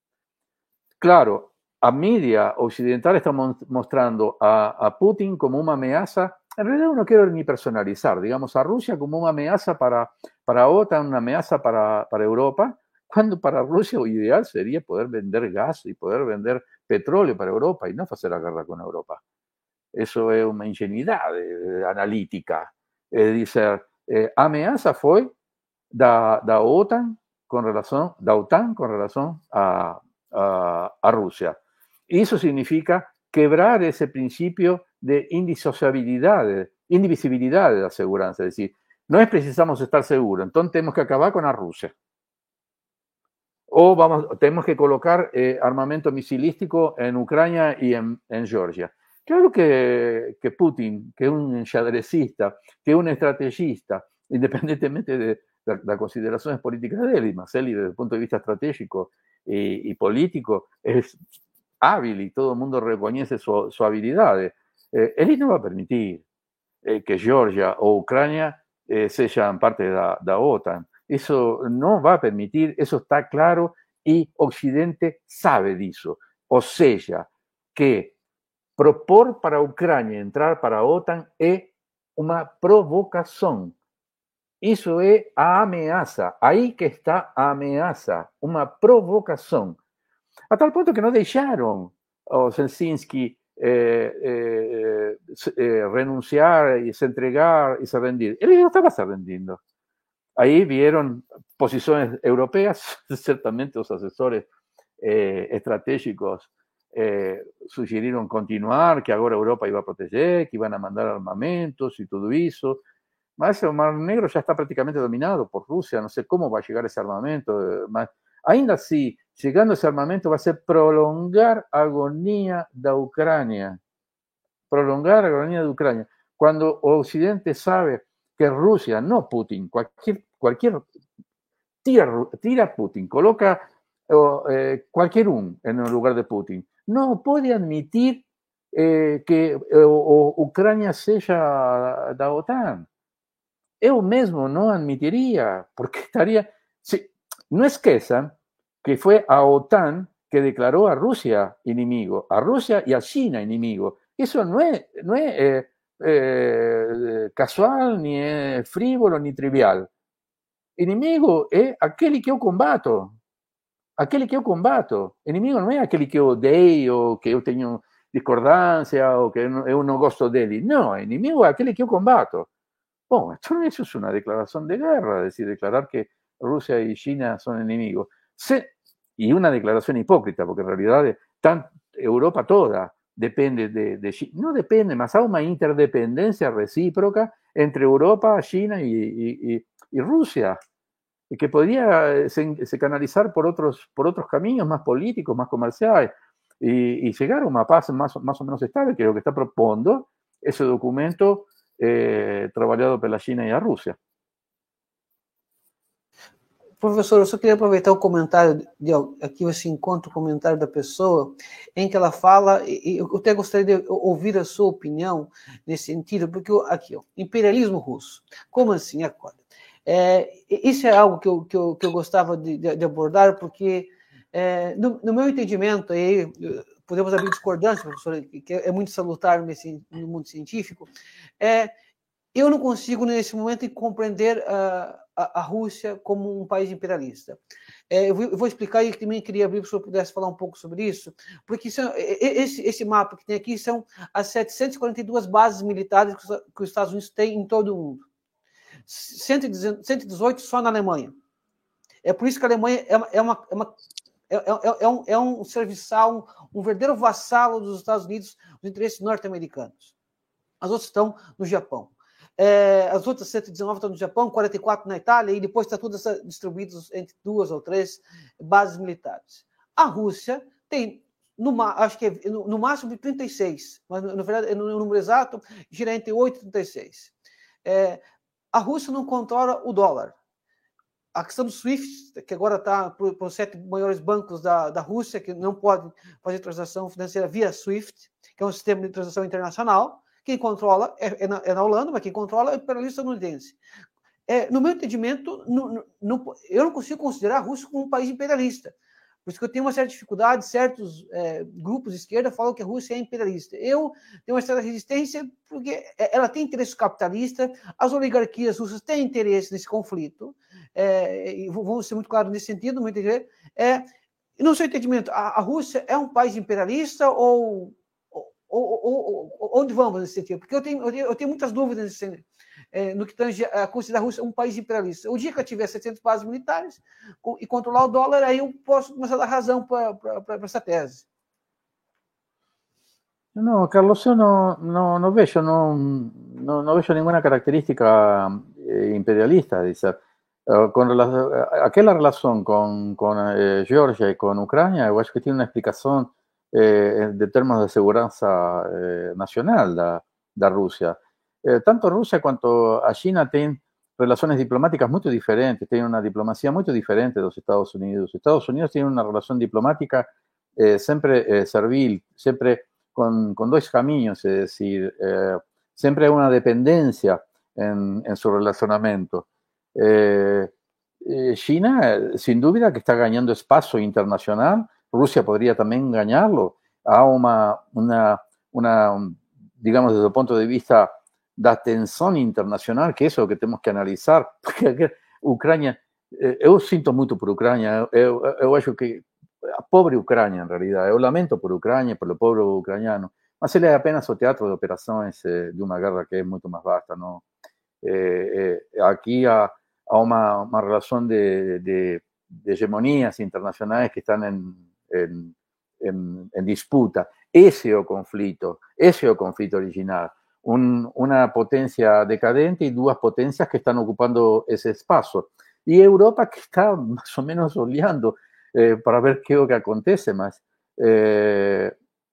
Claro, a mídia occidental está mostrando a, a Putin como una amenaza, en realidad no quiero ni personalizar, digamos, a Rusia como una amenaza para, para OTAN, una amenaza para, para Europa, cuando para Rusia lo ideal sería poder vender gas y poder vender petróleo para Europa y no hacer la guerra con Europa. Eso es una ingenuidad de, de analítica. Es decir, eh, amenaza fue da, da OTAN con relación, da OTAN con relación a, a, a Rusia. Y eso significa quebrar ese principio de indisociabilidad, indivisibilidad de la seguridad. Es decir, no es precisamos estar seguros, entonces tenemos que acabar con la Rusia. O vamos, tenemos que colocar eh, armamento misilístico en Ucrania y en, en Georgia. Claro que, que Putin, que es un enxadrecista, que es un estrategista, independientemente de, de las consideraciones políticas de él, y más él, y desde el punto de vista estratégico y, y político, es hábil y todo el mundo reconoce su, su habilidad. Eh, él no va a permitir eh, que Georgia o Ucrania eh, sean parte de la, de la OTAN. Eso no va a permitir, eso está claro y Occidente sabe de eso. O sea, que propor para Ucrania entrar para a OTAN es una provocación. Eso es a ameaça. Ahí que está a ameaça, una provocación. A tal punto que no dejaron a Zelensky eh, eh, eh, renunciar y se entregar y se rendir. Él no estaba se rendiendo. Ahí vieron posiciones europeas, ciertamente los asesores eh, estratégicos eh, sugirieron continuar, que ahora Europa iba a proteger, que iban a mandar armamentos y todo eso. Mas el Mar Negro ya está prácticamente dominado por Rusia, no sé cómo va a llegar ese armamento. Mas, ainda así, llegando ese armamento va a ser prolongar a agonía de Ucrania. Prolongar a agonía de Ucrania. Cuando Occidente sabe que Rusia, no Putin, cualquier, cualquier tira, tira Putin, coloca eh, cualquier un en el lugar de Putin, no puede admitir eh, que eh, o, Ucrania sea da OTAN. Eu mesmo no admitiría, porque estaría... Sí, no esqueçam que fue a OTAN que declaró a Rusia enemigo, a Rusia y a China enemigo. Eso no es, no es eh, eh, casual, ni es frívolo, ni trivial. inimigo è aquele che io combatto, aquele che io combatto. Inimigo non è aquele che io odeio, che io tengo discordancia o que yo no gosto de él. No, enemigo es aquel que yo combato. Bueno, esto eso es una declaración de guerra, es decir, declarar que Rusia y China son enemigos. Se, y una declaración hipócrita, porque en realidad tan, Europa toda depende de, de China. No depende, más hay una interdependencia recíproca entre Europa, China y, y, y, y Rusia, y que podría se, se canalizar por otros, por otros caminos más políticos, más comerciales. Y, y llegar a una paz más, más o menos estable, que es lo que está proponiendo ese documento eh, trabajado por la China y la Rusia. Professor, eu só queria aproveitar o comentário, de, aqui você encontra o comentário da pessoa, em que ela fala, e eu até gostaria de ouvir a sua opinião nesse sentido, porque aqui, ó, imperialismo russo, como assim? Acorda. É, isso é algo que eu, que eu, que eu gostava de, de abordar, porque É, no, no meu entendimento, aí, podemos abrir discordância, professor, que é muito salutar nesse, no mundo científico, é, eu não consigo, nesse momento, compreender a, a, a Rússia como um país imperialista. É, eu, vou, eu vou explicar e também queria abrir para o senhor pudesse falar um pouco sobre isso, porque isso, esse, esse mapa que tem aqui são as setecentas e quarenta e duas bases militares que os, que os Estados Unidos têm em todo o mundo. cento e dezoito só na Alemanha. É por isso que a Alemanha é uma... É uma, é uma É, é, é, um, é um serviçal, um, um verdadeiro vassalo dos Estados Unidos, dos interesses norte-americanos. As outras estão no Japão. É, as outras cento e dezenove estão no Japão, quarenta e quatro na Itália, e depois está tudo distribuído entre duas ou três bases militares. A Rússia tem, no, acho que é, no, no máximo de trinta e seis, mas na verdade, no, no número exato, gira entre oito e trinta e seis. É, a Rússia não controla o dólar. A questão do SWIFT, que agora está para os sete maiores bancos da, da Rússia, que não podem fazer transação financeira via SWIFT, que é um sistema de transação internacional. Quem controla é, é, na, é na Holanda, mas quem controla é o imperialista estadunidense. É, no meu entendimento, no, no, eu não consigo considerar a Rússia como um país imperialista. Por isso que eu tenho uma certa dificuldade, certos é, grupos de esquerda falam que a Rússia é imperialista. Eu tenho uma certa resistência porque ela tem interesse capitalista, as oligarquias russas têm interesse nesse conflito, é, e vamos ser muito claros nesse sentido, no meu entender. É, no seu entendimento, a, a Rússia é um país imperialista ou, ou, ou, ou onde vamos nesse sentido? Porque eu tenho, eu tenho, eu tenho muitas dúvidas nesse sentido. É, no que tange a considerar a Rússia um país imperialista. O dia que eu tiver setecentas bases militares e controlar o dólar, aí eu posso começar a dar razão para essa tese. No, Carlos, yo no, no, no veo, no, no, no veo ninguna característica eh, imperialista. Dice, uh, con relación, aquella relación con, con eh, Georgia y con Ucrania, yo creo que tiene una explicación eh, de términos de seguridad eh, nacional de, de Rusia. Eh, tanto Rusia quanto a China tienen relaciones diplomáticas muy diferentes, tienen una diplomacia muy diferente de los Estados Unidos. Estados Unidos tiene una relación diplomática eh, siempre eh, servil, siempre con, con dos caminos, es decir, eh, siempre hay una dependencia en, en su relacionamiento. Eh, eh, China, sin duda, que está ganando espacio internacional. Rusia podría también ganarlo. Hay una, una, una, digamos, desde el punto de vista da tensão internacional, que isso é o que temos que analisar, porque Ucrânia, eu sinto muito por Ucrânia, eu, eu acho que a pobre Ucrânia, em realidade, eu lamento por Ucrânia, pelo povo ucraniano, mas ele é apenas o teatro de operações de uma guerra que é muito mais vasta, não? É, é, aqui há, há uma, uma relação de, de, de hegemonias internacionais que estão em, em, em, em disputa. Esse é o conflito, esse é o conflito original. Un, una potencia decadente y dos potencias que están ocupando ese espacio. Y Europa que está más o menos oleando eh, para ver qué es lo que acontece más. Eh,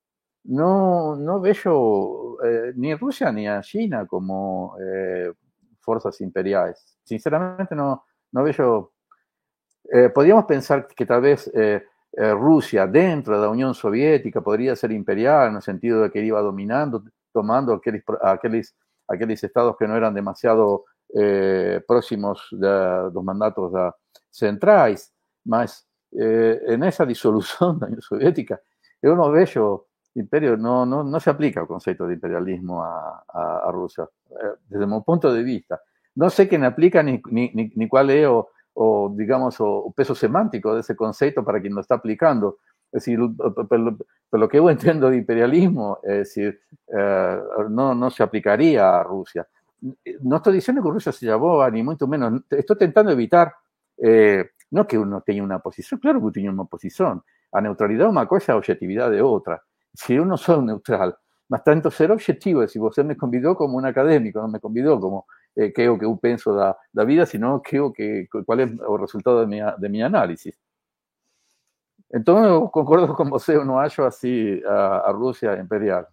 no, no veo eh, ni Rusia ni a China como eh, fuerzas imperiales. Sinceramente no, no veo... Eh, podríamos pensar que tal vez eh, eh, Rusia dentro de la Unión Soviética podría ser imperial en el sentido de que iba dominando, tomando aquellos, aquellos, aquellos estados que no eran demasiado eh, próximos de los mandatos de, centrais, mas eh, en esa disolución de la Unión Soviética, yo no veo imperio, no, no, no se aplica el concepto de imperialismo a, a, a Rusia, eh, desde mi punto de vista. No sé quién aplica ni, ni, ni, ni cuál es o, o digamos, o, o peso semántico de ese concepto para quien lo está aplicando. Es decir, por lo que yo entiendo de imperialismo, es decir, eh, no, no se aplicaría a Rusia. No estoy diciendo que Rusia se llamó, ni mucho menos. Estoy intentando evitar, eh, no que uno tenga una posición, claro que tiene una posición. A neutralidad una cosa, a objetividad de otra. Si yo no soy neutral, mas tanto ser objetivo, es decir, usted me convidó como un académico, no me convidó como eh, que o que yo pienso da, da vida, sino que o que cuál es el resultado de mi, de mi análisis. Então, eu concordo com você, eu não acho assim a, a Rússia imperial.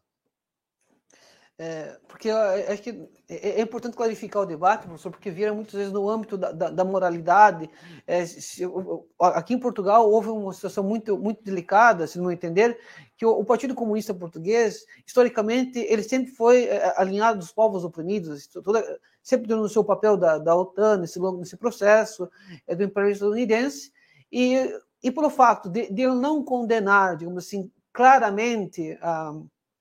É, porque eu acho que é importante clarificar o debate, professor, porque vira muitas vezes no âmbito da, da, da moralidade. É, se, aqui em Portugal houve uma situação muito, muito delicada, se não entender, que o, o Partido Comunista Português, historicamente, ele sempre foi é, alinhado dos povos oprimidos, toda, sempre denunciou o papel da, da OTAN nesse, nesse processo, é, do imperialismo estadunidense, e, e pelo fato de, de ele não condenar, digamos assim, claramente a,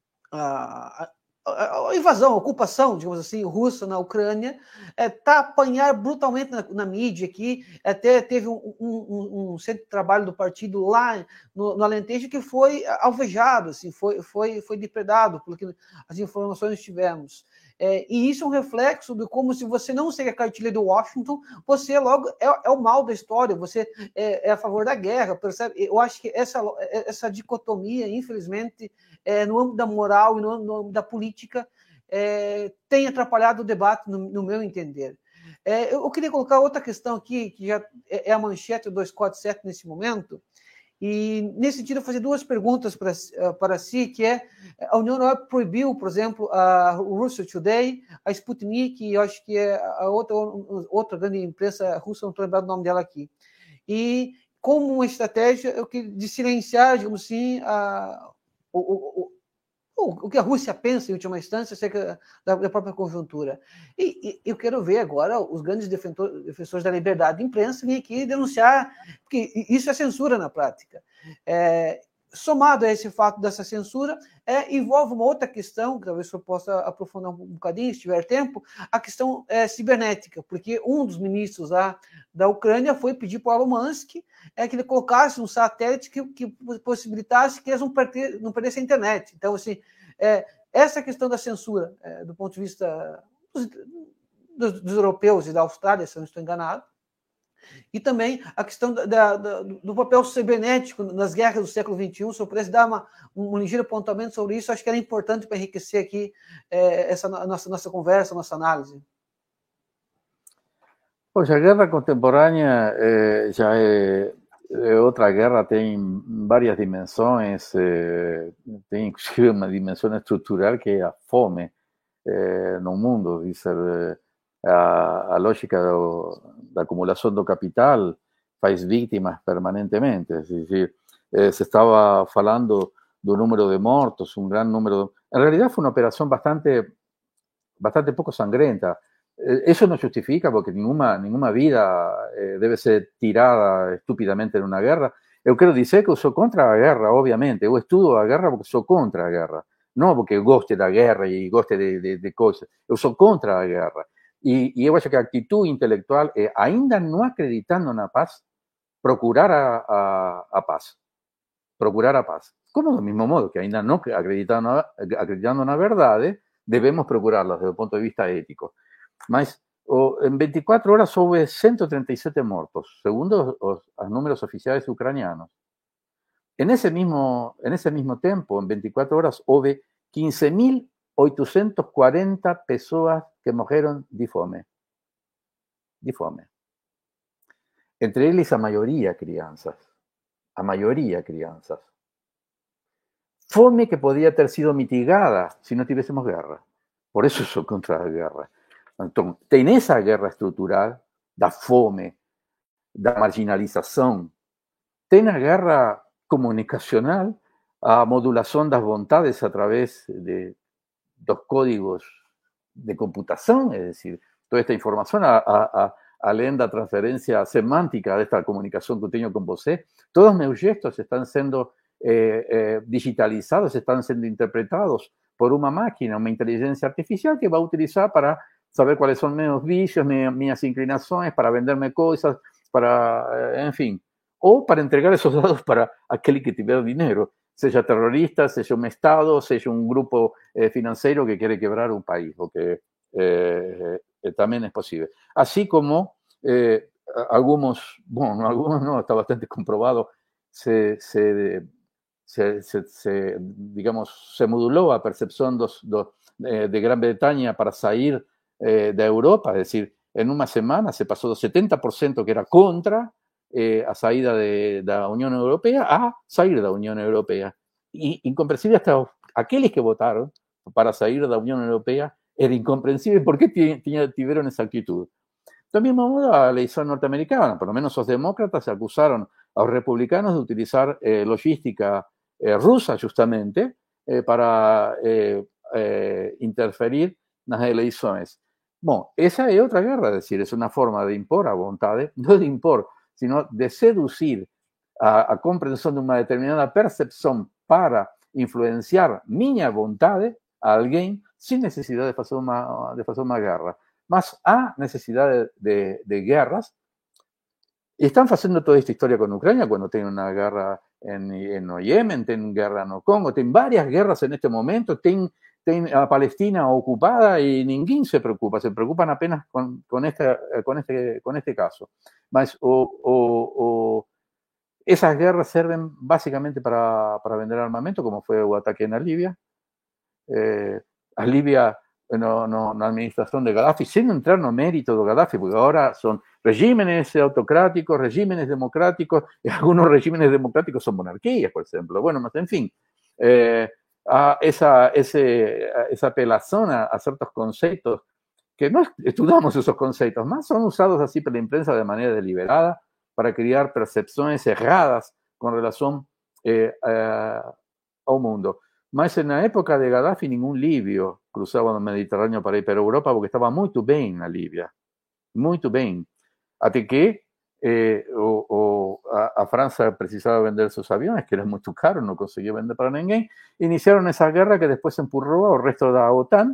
a a invasão, a ocupação, digamos assim, russa na Ucrânia, está é, a apanhar brutalmente na, na mídia aqui. Até teve um, um, um centro de trabalho do partido lá no, no Alentejo que foi alvejado, assim, foi, foi, foi depredado, pelo que as informações que tivemos. É, e isso é um reflexo de como, se você não segue a cartilha do Washington, você logo é, é o mal da história, você é, é a favor da guerra, percebe? Eu acho que essa, essa dicotomia, infelizmente, é, no âmbito da moral e no âmbito da política, é, tem atrapalhado o debate, no, no meu entender. É, eu, eu queria colocar outra questão aqui, que já é a manchete do duzentos e quarenta e sete nesse momento, e, nesse sentido, eu vou fazer duas perguntas para, para si, que é, a União Europeia proibiu, por exemplo, a Russia Today, a Sputnik, e eu acho que é a outra, outra grande imprensa russa, não estou lembrando o nome dela aqui. E, como uma estratégia de silenciar, digamos assim, a, o, o, o, o que a Rússia pensa, em última instância, acerca da, da própria conjuntura. E, e eu quero ver agora os grandes defensores da liberdade de imprensa vir aqui denunciar, porque isso é censura na prática. É, somado a esse fato dessa censura, é, envolve uma outra questão, que talvez eu possa aprofundar um bocadinho, se tiver tempo, a questão é, cibernética, porque um dos ministros lá da Ucrânia foi pedir para o Elon Musk é, que ele colocasse um satélite que, que possibilitasse que eles não, perder, não perdessem a internet. Então, assim, é, essa questão da censura, é, do ponto de vista dos, dos, dos europeus e da Austrália, se eu não estou enganado, e também a questão da, da, do papel cibernético nas guerras do século vinte e um, se eu pudesse dar uma, um ligeiro apontamento sobre isso, acho que era importante para enriquecer aqui é, essa nossa, nossa conversa, nossa análise. Pois a guerra contemporânea eh, já é, é outra guerra, tem várias dimensões, eh, tem inclusive uma dimensão estrutural que é a fome eh, no mundo, dizer, eh, A, a lógica do, da acumulação do capital faz vítimas permanentemente. Es decir, eh, se estaba falando do número de mortos, un gran número. En realidad fue una operación bastante, bastante poco sangrenta. Eh, eso no justifica, porque ninguna, ninguna vida eh, debe ser tirada estúpidamente en una guerra. Eu quero dizer que eu sou contra a guerra, obviamente. Eu estudo a guerra porque sou contra a guerra. Não porque eu goste da guerra e goste de, de, de coisas. Eu sou contra a guerra. E, e eu acho que a atitude intelectual é, ainda não acreditando na paz, procurar a, a, a paz. Procurar a paz. Como do mesmo modo que ainda não acreditando, acreditando na verdade, devemos procurarla desde o ponto de vista ético. Mas oh, em veinticuatro horas houve ciento treinta y siete mortos, segundo os, os números oficiais ucranianos. En ese mismo, en ese mismo tempo, en veinticuatro horas, houve quince mil oitocentas e quarenta pessoas que morreram de fome. De fome. Entre eles, a maioria crianças. A maioria crianças. Fome que podia ter sido mitigada se não tivéssemos guerra. Por isso sou contra a guerra. Então, tem essa guerra estrutural da fome, da marginalização. Tem a guerra comunicacional, a modulação das vontades através de dos códigos de computación, es decir, toda esta información, a, a, além da transferencia semántica de esta comunicación que eu tenho con você, todos meus gestos están siendo eh, eh, digitalizados, están siendo interpretados por una máquina, una inteligencia artificial que va a utilizar para saber cuáles son meus vicios, minhas inclinações, para venderme cosas, para, en fin, o para entregar esos dados para aquel que tiver dinero, sea terrorista, sea un Estado, sea un grupo eh, financiero que quiere quebrar un país, lo que eh, eh, también es posible. Así como eh, algunos, bueno, algunos no, está bastante comprobado, se, se, se, se, se digamos, se moduló a percepción dos, dos, eh, de Gran Bretaña para salir eh, de Europa, es decir, en una semana se pasó del setenta por ciento que era contra eh, a saída de, de la Unión Europea a salir de la Unión Europea. Y incomprensible hasta aquellos que votaron para salir de la Unión Europea, era incomprensible por qué tuvieron esa actitud. También modo a la elección norteamericana, por lo menos los demócratas se acusaron a los republicanos de utilizar eh, logística eh, rusa justamente eh, para eh, eh, interferir en las elecciones. Bueno, esa es otra guerra, es decir, es una forma de impor a voluntad, no de impor, sino de seducir a, a comprensión de una determinada percepción para influenciar mi voluntad a alguien sin necesidad de hacer una, de hacer una guerra. Más a necesidad de, de, de guerras. Y están haciendo toda esta historia con Ucrania cuando tienen una guerra en, en Yemen, tienen guerra en Congo, tienen varias guerras en este momento, tienen, tienen a Palestina ocupada y ninguém se preocupa, se preocupan apenas con, con, este, con, este, con este caso. Mas, o, o, o esas guerras sirven básicamente para, para vender armamento, como fue el ataque en Libia. Eh, a Libia, no, no, na administración de Gaddafi, sin entrar no mérito de Gaddafi, porque ahora son regímenes autocráticos, regímenes democráticos, y algunos regímenes democráticos son monarquías, por ejemplo. Bueno, más en fin, eh, a esa, ese, esa apelación a, a ciertos conceptos, que no estudiamos esos conceptos, más son usados así por la imprensa de manera deliberada para crear percepciones erradas con relación eh, a, ao mundo. Mas na época de Gaddafi ningún libio cruzaba o Mediterrâneo para ir para a Europa porque estava muito bem na Líbia, muito bem. Até que eh, o, o, a, a França precisava vender seus aviões, que eram muito caros, não conseguia vender para ninguém. Iniciaram essa guerra que depois empurrou ao resto da OTAN,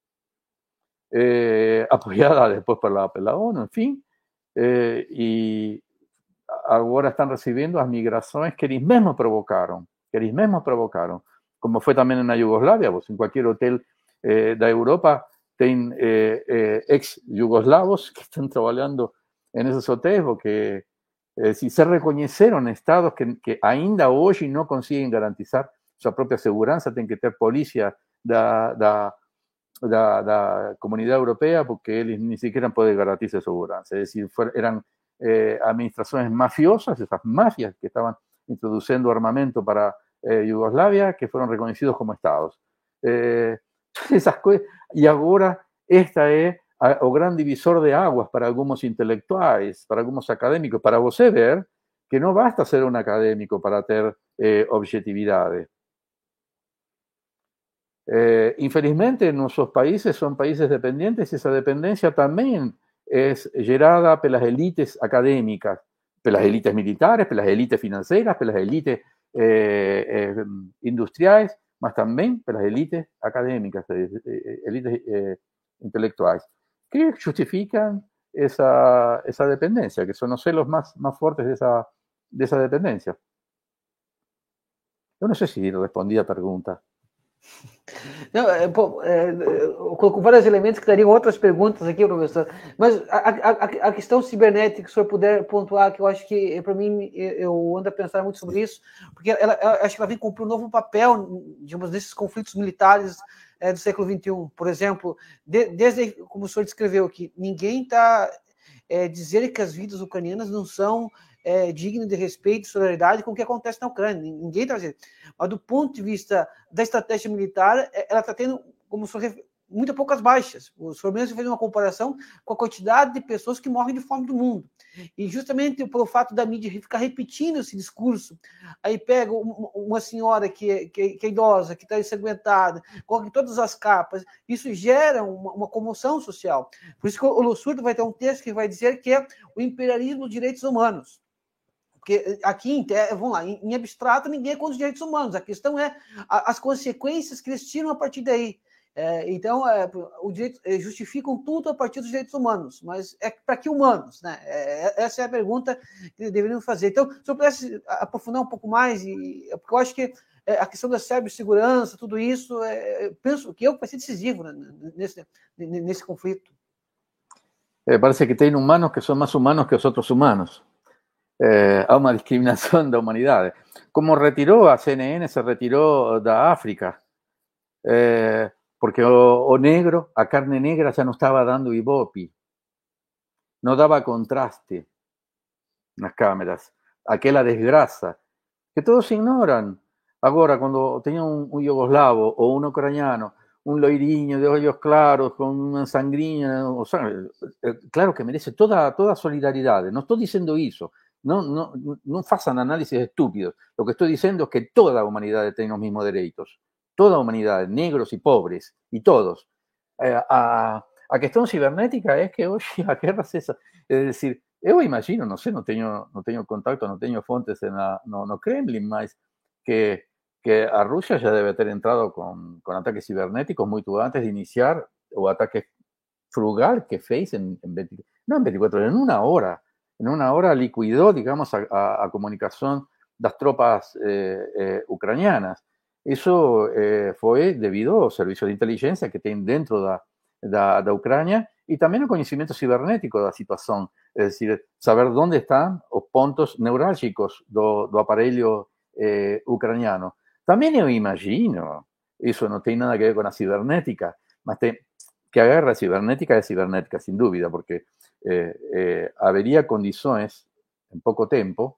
eh, apoiada depois pela, pela ONU, enfim, eh, e agora estão recebendo as migrações que eles mesmos provocaram, que eles mesmos provocaram. Como fue también en la Yugoslavia, pues en cualquier hotel eh, de Europa tienen eh, eh, ex-yugoslavos que están trabajando en esos hoteles porque eh, si se reconocieron estados que, que ainda hoy no consiguen garantizar su propia seguridad, tienen que tener policía da, da, da, da comunidad europea porque ellos ni siquiera pueden garantizar seguridad. Es decir, fueron, eran eh, administraciones mafiosas, esas mafias que estaban introduciendo armamento para Eh, Yugoslavia, que fueron reconocidos como estados. Eh, esas y ahora esta es a, o gran divisor de aguas para algunos intelectuales, para algunos académicos, para vos ver que no basta ser un académico para tener eh, objetividades. Eh, infelizmente, nuestros países son países dependientes y esa dependencia también es gerada por las élites académicas, por las élites militares, por las élites financieras, por las élites Eh, eh, industriales, mas también por las élites académicas, eh, élites eh, intelectuales, que justifican esa, esa dependencia, que son los celos más, más fuertes de esa, de esa dependencia. Eu não sei se respondi a pergunta. Não, é, pô, é, colocou vários elementos que dariam outras perguntas aqui, professor. Mas a, a, a questão cibernética, se o senhor puder pontuar, que eu acho que, para mim, eu ando a pensar muito sobre isso, porque ela, ela, acho que ela vem cumprir um novo papel, digamos, nesses conflitos militares é, do século vinte e um. Por exemplo, de, desde, como o senhor descreveu aqui, ninguém está é, dizendo que as vidas ucranianas não são É, digno de respeito e solidariedade com o que acontece na Ucrânia. Ninguém está dizendo. Mas do ponto de vista da estratégia militar, ela está tendo, como o senhor, muito poucas baixas. O senhor mesmo fez uma comparação com a quantidade de pessoas que morrem de fome do mundo. E justamente pelo fato da mídia ficar repetindo esse discurso, aí pega uma senhora que é, que é, que é idosa, que está ensanguentada, coloca todas as capas, isso gera uma, uma comoção social. Por isso que o Lossurdo vai ter um texto que vai dizer que é o imperialismo dos direitos humanos. Porque aqui, vamos lá, em abstrato, ninguém é contra os direitos humanos. A questão é as consequências que eles tiram a partir daí. É, então, é, o direito, justificam tudo a partir dos direitos humanos, mas é para que humanos? Né? É, essa é a pergunta que deveriam fazer. Então, se eu pudesse aprofundar um pouco mais, e, porque eu acho que a questão da cibersegurança, tudo isso, é, eu penso que eu vai ser decisivo, né, nesse, nesse conflito. Eh, parece que tem humanos que são mais humanos que os outros humanos. Eh, há uma discriminação da humanidade. Como retirou a C N N, se retirou da África. Eh, porque o, o negro, a carne negra já não estava dando ibope, não dava contraste nas câmeras, aquela desgraça que todos ignoram. Agora, quando tem um, um iugoslavo ou um ucraniano, um loirinho de olhos claros, com uma sangrinha, o sea, claro que merece toda, toda solidariedade. Não estou dizendo isso. Não, não, não façam análisis estúpidos. Lo que estou dizendo é que toda a humanidade tem os mesmos direitos. Toda a humanidade, negros e pobres, e todos. Eh, a, a questão cibernética é que hoje a guerra é essa. É decir, eu imagino, não sei, não tenho, não tenho contato, não tenho fontes na, no, no Kremlin, mas que, que a Rússia já deve ter entrado com, com ataques cibernéticos muito antes de iniciar o ataque frugal que fez em, em veinte, não em veinticuatro horas, en una hora. En una hora liquidó, digamos, a, a, a comunicación das tropas eh, eh, ucranianas. Isso eh, foi devido ao serviço de inteligência que tem dentro da, da, da Ucrânia e também ao conhecimento cibernético da situação, é decir, saber onde estão os pontos neurálgicos do, do aparelho eh, ucraniano. Também eu imagino, isso não tem nada a ver com a cibernética, mas tem, que a guerra cibernética é cibernética, sem dúvida, porque eh, eh, haveria condições, em pouco tempo,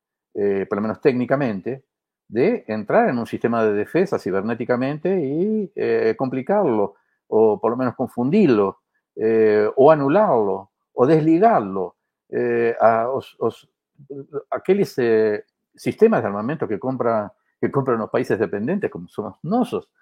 eh, pelo menos técnicamente, de entrar en un sistema de defensa cibernéticamente y eh, complicarlo, o por lo menos confundirlo, eh, o anularlo, o desligarlo. Eh, a, os, os, aqueles eh, sistemas de armamento que, compra, que compran los países dependientes, como somos nosotros,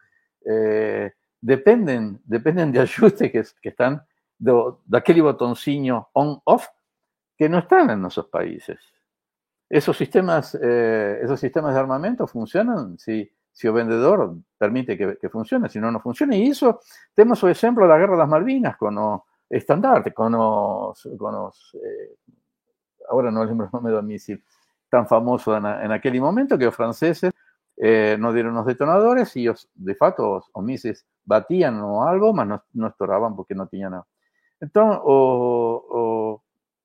eh, dependen, dependen de ajustes que, que están de, de aquel botoncillo on-off que no están en nuestros países. Esos sistemas, eh, esos sistemas de armamento funcionan si, si el vendedor permite que, que funcione, si no, no funciona. Y eso, tenemos el ejemplo de la Guerra de las Malvinas con los estandartes, con los, con los eh, ahora no lembro el nombre del misil tan famoso en, en aquel momento, que los franceses eh, nos dieron los detonadores y ellos, de facto, los misiles batían o algo, mas no, no estouraban porque no tenían nada. Entonces, o, o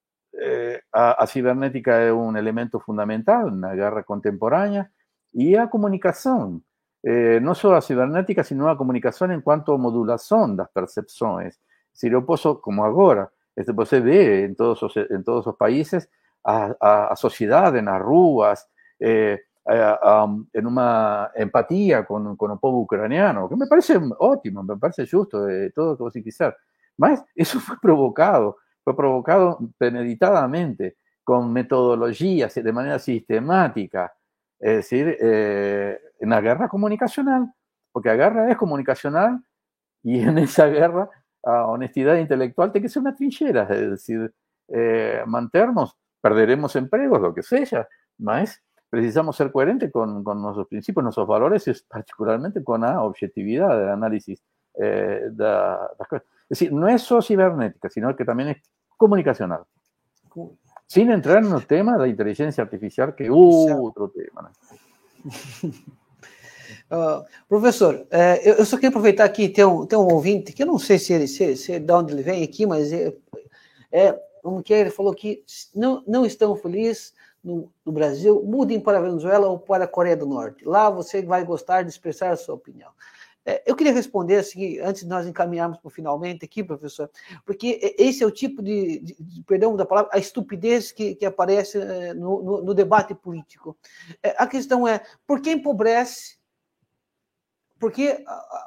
Eh, a, a cibernética é um elemento fundamental na guerra contemporânea e a comunicação, eh, não só a cibernética, sino a comunicação em quanto a modulação das percepções. Se eu posso, como agora, este, você vê em todos os, em todos os países a, a, a sociedade nas ruas, eh, a, a, em uma empatia com, com o povo ucraniano, que me parece ótimo, me parece justo, eh, todo o que você quiser. Mas isso foi provocado fue provocado premeditadamente, con metodologías, de manera sistemática, es decir, eh, en la guerra comunicacional, porque la guerra es comunicacional y en esa guerra a honestidad intelectual tiene que ser una trinchera, es decir, eh, mantenernos, perderemos empleos, lo que sea, mas precisamos ser coherentes con, con nuestros principios, nuestros valores y particularmente con la objetividad del análisis eh, de las cosas. Es decir, no es solo cibernética, sino que también es comunicacional. Sin entrar en el tema de la inteligencia artificial, que es otro tema. Né? Uh, professor, é, eu, eu só queria aproveitar aqui, tem um, tem um ouvinte, que eu não sei se ele, se, se, de onde ele vem aqui, mas é, é, como que é, ele falou que não, não estão felizes no, no Brasil, mudem para a Venezuela ou para a Coreia do Norte. Lá você vai gostar de expressar a sua opinião. Eu queria responder assim, antes de nós encaminharmos para o finalmente aqui, professor, porque esse é o tipo de, de, de perdão da palavra, a estupidez que, que aparece no, no, no debate político. A questão é, por que empobrece? Por que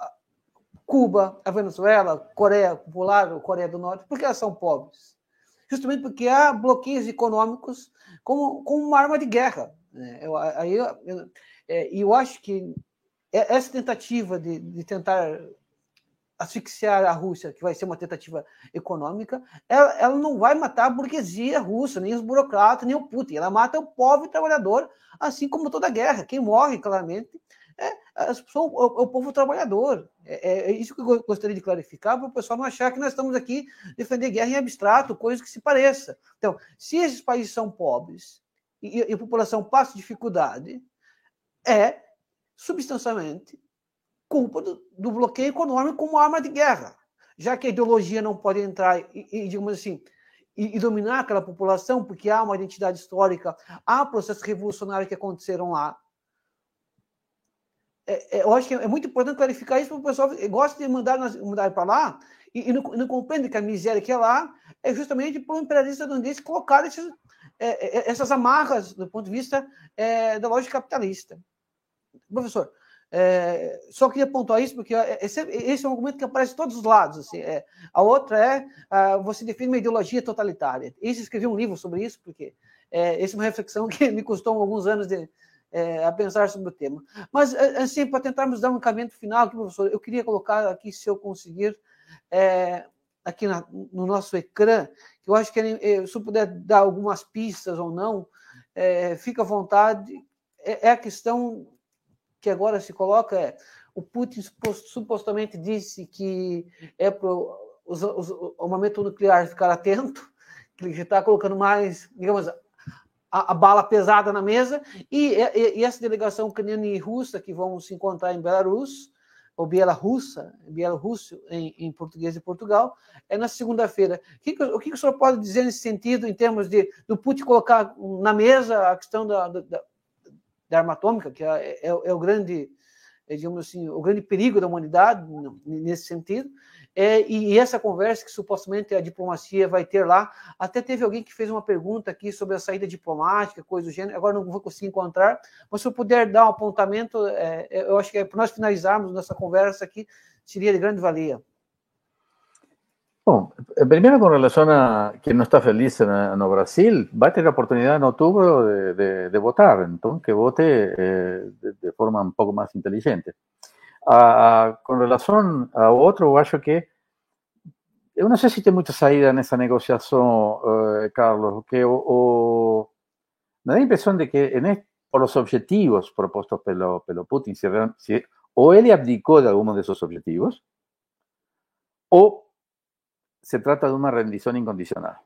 Cuba, a Venezuela, a Coreia Popular, a Coreia do Norte, por que elas são pobres? Justamente porque há bloqueios econômicos como, como uma arma de guerra. Eu, aí eu, eu, eu acho que essa tentativa de, de tentar asfixiar a Rússia, que vai ser uma tentativa econômica, ela, ela não vai matar a burguesia russa, nem os burocratas, nem o Putin. Ela mata o pobre trabalhador, assim como toda guerra. Quem morre, claramente, é, as pessoas, o, o povo trabalhador. É, é isso que eu gostaria de clarificar, para o pessoal não achar que nós estamos aqui defender guerra em abstrato, coisa que se pareça. Então, se esses países são pobres e, e a população passa dificuldade, é substancialmente culpa do, do bloqueio econômico como arma de guerra, já que a ideologia não pode entrar e, e digamos assim, e, e dominar aquela população, porque há uma identidade histórica, há processos revolucionários que aconteceram lá. É, é, eu acho que é muito importante clarificar isso, porque o pessoal gosta de mandar, mandar para lá e, e não, não compreende que a miséria que é lá é justamente para o imperialista estadunidense colocar esses, é, essas amarras do ponto de vista é, da lógica capitalista. Professor, é, só queria pontuar isso, porque esse, esse é um argumento que aparece de todos os lados. Assim, é, a outra é, a, você define uma ideologia totalitária. Isso, escrevi um livro sobre isso, porque é, essa é uma reflexão que me custou alguns anos de, é, a pensar sobre o tema. Mas, assim, para tentarmos dar um encaminhamento final aqui, professor, eu queria colocar aqui, se eu conseguir, é, aqui na, no nosso ecrã, que eu acho que, se eu puder dar algumas pistas ou não, é, fica à vontade, é, é a questão que agora se coloca é, o Putin supostamente disse que é para o armamento nuclear ficar atento, que ele está colocando mais, digamos, a, a bala pesada na mesa, e, e, e essa delegação ucraniana e russa que vão se encontrar em Belarus, ou Bielorrussa, Bielorrússia em, em português de Portugal, é na segunda-feira. O, que, o que o senhor pode dizer nesse sentido, em termos de do Putin colocar na mesa a questão da, da da arma atômica, que é, é, é o grande, é, digamos assim, o grande perigo da humanidade nesse sentido, é, e, e essa conversa que supostamente a diplomacia vai ter lá, até teve alguém que fez uma pergunta aqui sobre a saída diplomática, coisa do gênero, agora não vou conseguir encontrar, mas se eu puder dar um apontamento, é, eu acho que é, para nós finalizarmos nossa conversa aqui, seria de grande valia. Bom, primero con relación a quien no está feliz en, en Brasil, va a tener la oportunidad en octubre de, de, de votar, entonces que vote eh, de, de forma un poco más inteligente. Ah, con relación a otro, yo acho que eu não sei se tem muita saída nessa negociação, uh, Carlos, que o, o, me dá a impressão de que en este, por los objetivos propuestos pelo, pelo Putin, si, si, o ele abdicou de algunos de esos objetivos, o se trata de una rendición incondicional.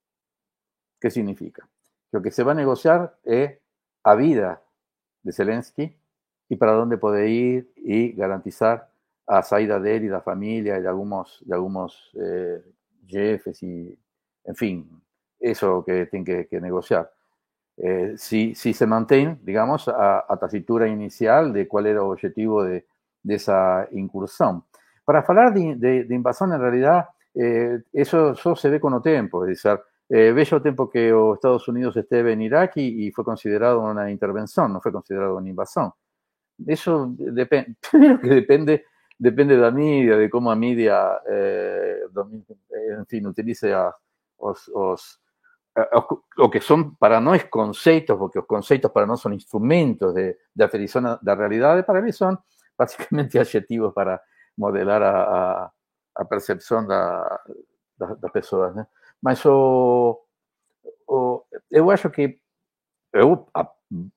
¿Qué significa? Que lo que se va a negociar es a vida de Zelensky y para dónde puede ir y garantizar a saída de él y de la familia y de algunos, de algunos eh, jefes y, en fin, eso que tienen que, que negociar. Eh, si, si se mantiene, digamos, a, a tacitura inicial de cuál era el objetivo de, de esa incursión. Para hablar de, de, de invasión, en realidad, Eh, eso, eso se ve con el tiempo, es decir, eh, bello tiempo que los Estados Unidos esteve en Irak y, y fue considerado una intervención, no fue considerado una invasión. Eso depende, primero que depende, depende de la media, de cómo la media, eh, en fin, utilice a, os, os, a, lo que son para nós conceitos, porque los conceitos para nós son instrumentos de, de aferição da realidade, para mí son básicamente adjetivos para modelar a, a a percepção da, da, das pessoas, né? Mas o, o, eu acho que eu a,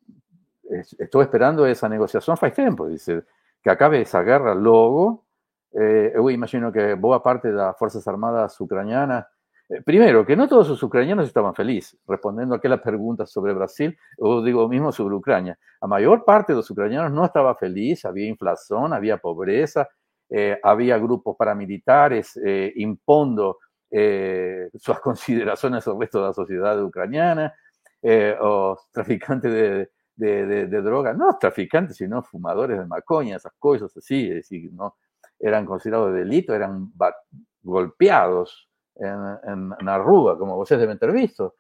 estou esperando essa negociação faz tempo, dizer, que acabe essa guerra logo. Eh, eu imagino que boa parte das Forças Armadas ucranianas, eh, primeiro, que não todos os ucranianos estavam felizes, respondendo aquela pergunta sobre Brasil, eu digo o mesmo sobre Ucrânia. A maior parte dos ucranianos não estava feliz, havia inflação, havia pobreza, Eh, había grupos paramilitares eh, impondo eh, sus consideraciones al resto de la sociedad ucraniana, eh, o traficantes de, de, de, de drogas, no traficantes, sino fumadores de maconha, esas cosas así, es decir, no eran considerados delito, eran golpeados en, en, en la rúa, como ustedes deben haber visto.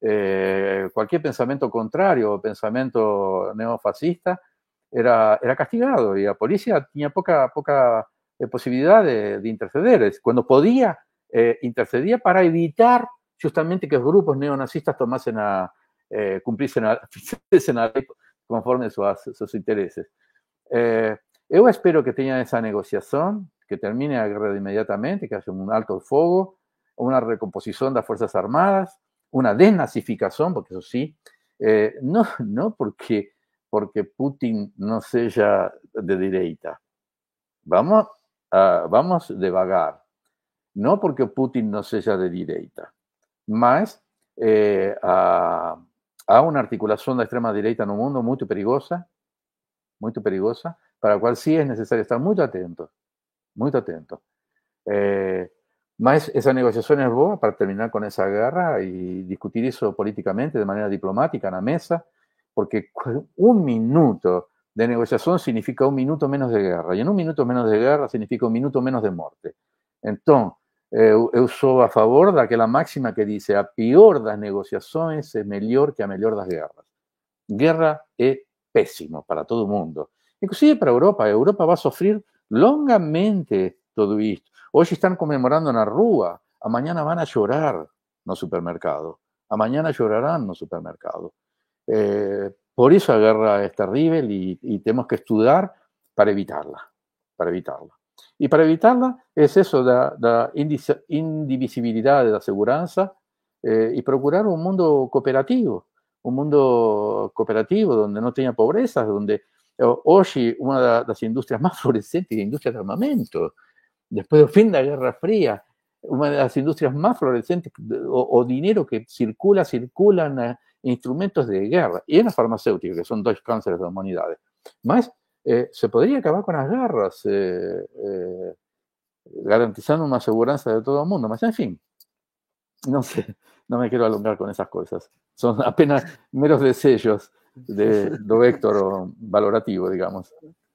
Eh, cualquier pensamiento contrario, pensamiento neofascista, era, era castigado y la policía tenía poca, poca eh, posibilidad de, de interceder. Cuando podía, eh, intercedía para evitar justamente que los grupos neonazistas tomasen a, eh, cumpliesen a, a ley conforme a sus, sus intereses. Eh, yo espero que tengan esa negociación, que termine la guerra inmediatamente, que haya un alto fuego, una recomposición de las Fuerzas Armadas, una desnazificación, porque eso sí, eh, no, no porque porque Putin no seja de direita. Vamos, uh, vamos devagar. Não porque Putin não seja de direita, mas eh, há, há uma articulação da extrema-direita no mundo muito perigosa, muito perigosa, para a qual sim é necessário estar muito atento, muito atento. Eh, mas essa negociação é boa para terminar com essa guerra e discutir isso politicamente, de maneira diplomática, na mesa, porque um minuto de negociação significa um minuto menos de guerra, e em um minuto menos de guerra significa um minuto menos de morte. Então, eu, eu sou a favor daquela máxima que diz: a pior das negociações é melhor que a melhor das guerras. Guerra é péssimo para todo mundo, inclusive para a Europa. A Europa vai sofrer longamente tudo isto. Hoje estão comemorando na rua, amanhã vão a chorar no supermercado, amanhã chorarão no supermercado. Eh, por isso a guerra é terrível e, e temos que estudar para evitarla, para evitarla. E para evitarla é isso da, da indivisibilidade da segurança eh, e procurar um mundo cooperativo, um mundo cooperativo onde não tenha pobreza, onde hoje uma das indústrias mais florescentes é a indústria de armamento. Después del fin de la Guerra Fría, una de las industrias más florecientes, o, o dinero que circula, circulan eh, instrumentos de guerra, y en las farmacéuticas, que son dos cánceres de la humanidad. Más, eh, se podría acabar con las guerras, eh, eh, garantizando una seguridad de todo el mundo. Mas, en fin, no sé, no me quiero alongar con esas cosas. Son apenas meros deseos de, do Héctor valorativo, digamos.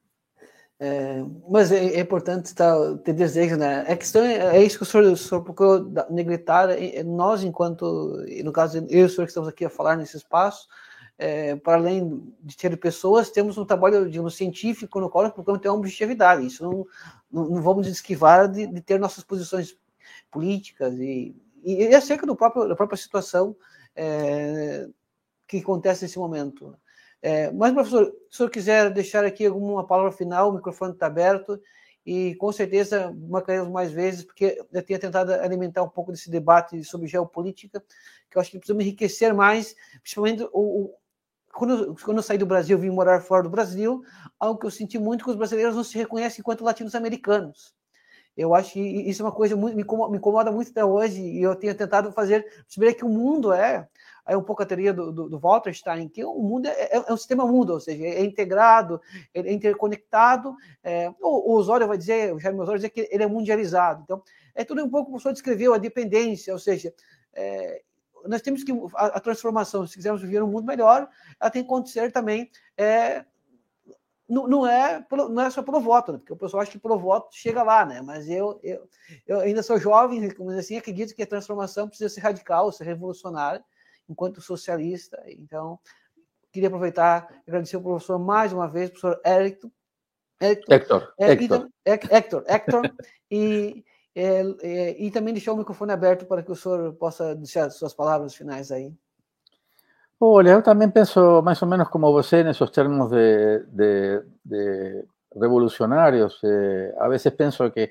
É, mas é, é importante tá, ter desejo, né? A questão é, é isso que o senhor, o senhor procurou negritar. Nós, enquanto, no caso, eu e o senhor que estamos aqui a falar nesse espaço, é, para além de ter pessoas, temos um trabalho, digamos, científico no qual nós procuramos ter uma objetividade. Isso não, não, não vamos esquivar de, de ter nossas posições políticas e, e, e acerca do próprio, da própria situação é, que acontece nesse momento. É, mas, professor, se o senhor quiser deixar aqui alguma palavra final, o microfone está aberto e, com certeza, marcaremos mais vezes, porque eu tenho tentado alimentar um pouco desse debate sobre geopolítica, que eu acho que precisamos enriquecer mais, principalmente o, o, quando, quando eu saí do Brasil, vim morar fora do Brasil, algo que eu senti muito, que os brasileiros não se reconhecem enquanto latinos-americanos. Eu acho que isso é uma coisa muito, me incomoda, me incomoda muito até hoje, e eu tenho tentado fazer, perceber que o mundo é... Aí um pouco a teoria do, do, do Wallerstein, que o mundo é, é um sistema mundo, ou seja, é integrado, é interconectado. É, o, o Osório vai dizer, o Jaime Osório vai dizer que ele é mundializado. Então, é tudo um pouco como o senhor descreveu, a dependência, ou seja, é, nós temos que, a, a transformação, se quisermos viver um mundo melhor, ela tem que acontecer também, é, não, não, é, não é só pelo voto, né? Porque o pessoal acha que pelo voto chega lá, né? Mas eu, eu, eu ainda sou jovem, como assim, acredito que a transformação precisa ser radical, ser revolucionária, enquanto socialista. Então, queria aproveitar e agradecer ao professor mais uma vez, professor Hector. Hector, é, Hector. E, Hector, Hector e, é, é, e também deixar o microfone aberto para que o senhor possa deixar suas palavras finais aí. Olha, eu também penso mais ou menos como você nesses termos de, de, de revolucionários. Eh, a vezes penso que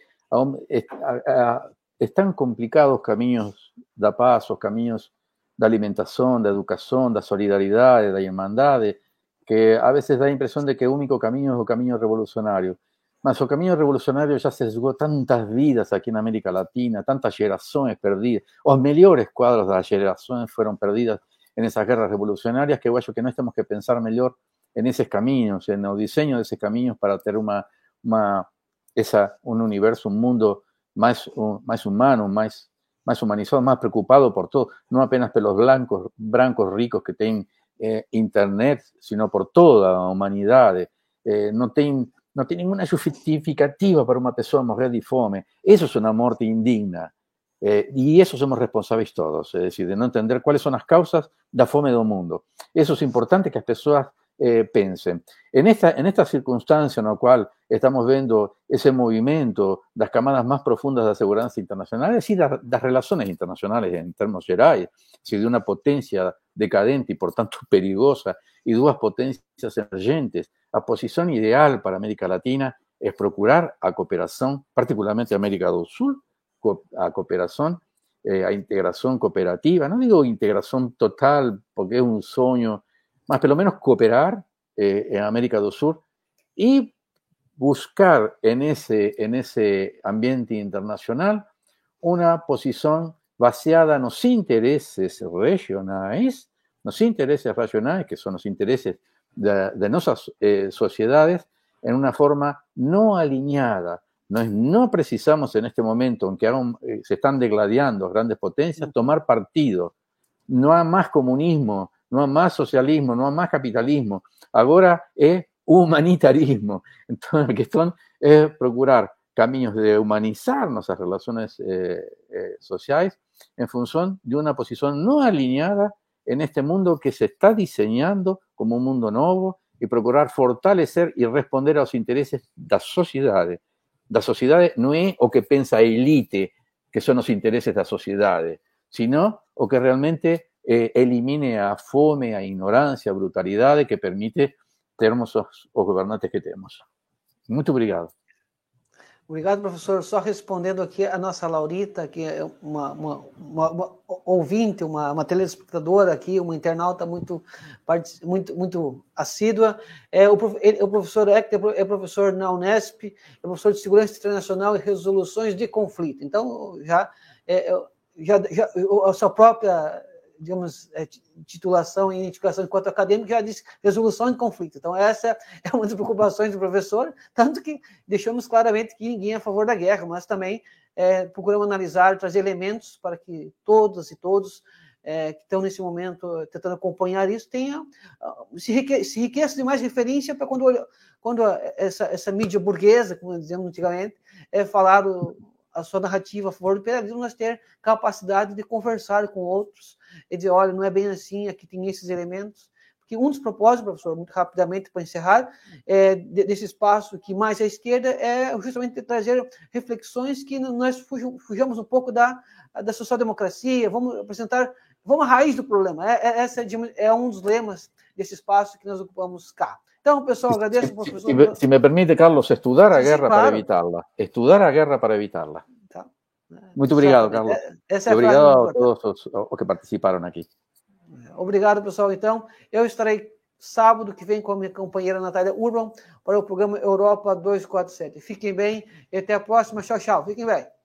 estão complicados os caminhos da paz, os caminhos da alimentação, da educação, da solidariedade, da irmandade, que a vezes dá a impressão de que o único caminho é o caminho revolucionário. Mas o caminho revolucionário já sesgou tantas vidas aqui na América Latina, tantas gerações perdidas. Os melhores quadros das gerações foram perdidas nessas guerras revolucionárias, que eu acho que nós temos que pensar melhor nesses caminhos, no desenho desses caminhos para ter uma, uma, essa, um universo, um mundo mais, um, mais humano, mais más humanizado, más preocupado por todo, no apenas por los blancos, brancos ricos que tienen eh, internet, sino por toda la humanidad. Eh, no tiene no tem ninguna justificativa para una persona morrer de fome. Eso es una muerte indigna. Eh, y eso somos responsables todos, es decir, de no entender cuáles son las causas da fome del mundo. Eso es importante que las personas eh, pensen. En esta, en esta circunstancia en la cual estamos viendo ese movimiento das camadas más profundas da segurança internacional, es decir, das, das relaciones internacionales en términos gerais, es decir, de una potencia decadente y por tanto perigosa y dos potencias emergentes. A posición ideal para América Latina es procurar a cooperación, particularmente América do Sul, a cooperación, eh, a integración cooperativa. No digo integración total porque es un sueño, mas pelo menos cooperar eh, en América do Sur y buscar en ese, en ese ambiente internacional una posición baseada nos intereses regionais, nos intereses regionais, que son los intereses de, de nuestras eh, sociedades, en una forma no alineada. No, es, no precisamos en este momento, aunque aún, eh, se están degladiando grandes potencias, tomar partido. No hay más comunismo, no hay más socialismo, no hay más capitalismo. Ahora es humanitarismo. Entonces, la cuestión es procurar caminos de humanizar nuestras relaciones eh, eh, sociales en función de una posición no alineada en este mundo que se está diseñando como un mundo nuevo y procurar fortalecer y responder a los intereses de las sociedades. Das sociedades no é o que pensa a elite, que son os intereses das sociedades, sino o que realmente eh, elimine a fome, a ignorancia, a brutalidade que permite termos os, os governantes que temos. Muito obrigado. Obrigado, professor. Só respondendo aqui a nossa Laurita, que é uma, uma, uma, uma ouvinte, uma, uma telespectadora aqui, uma internauta muito, muito, muito assídua. É, o, ele, o professor Hector é professor na Unesp, é professor de Segurança Internacional e Resoluções de Conflito. Então, já, é, já, já a sua própria, digamos, titulação e identificação enquanto acadêmico já diz resolução de conflito. Então, essa é uma das preocupações do professor, tanto que deixamos claramente que ninguém é a favor da guerra, mas também é, procuramos analisar, trazer elementos para que todas e todos é, que estão nesse momento tentando acompanhar isso tenham, se, enrique, se enriqueça de mais referência para quando, quando essa, essa mídia burguesa, como dizemos antigamente, é falar o, a sua narrativa a favor do imperialismo, nós ter capacidade de conversar com outros e dizer, olha, não é bem assim, aqui tem esses elementos. Porque um dos propósitos, professor, muito rapidamente para encerrar, é, desse espaço que mais à esquerda é justamente trazer reflexões que nós fujamos um pouco da, da social-democracia, vamos apresentar, vamos à raiz do problema. É, é, essa é um dos lemas desse espaço que nós ocupamos cá. Então, pessoal, agradeço ao professor. Se me, se me permite, Carlos, estudar a sí, guerra sí, claro. para evitarla. Estudar a guerra para evitarla. Tá. Muito obrigado, Carlos. Essa é e obrigado a todos os, os que participaram aqui. Obrigado, pessoal. Então, eu estarei sábado que vem com a minha companheira Natália Urban para o programa Europa duzentos e quarenta e sete. Fiquem bem e até a próxima. Tchau, tchau. Fiquem bem.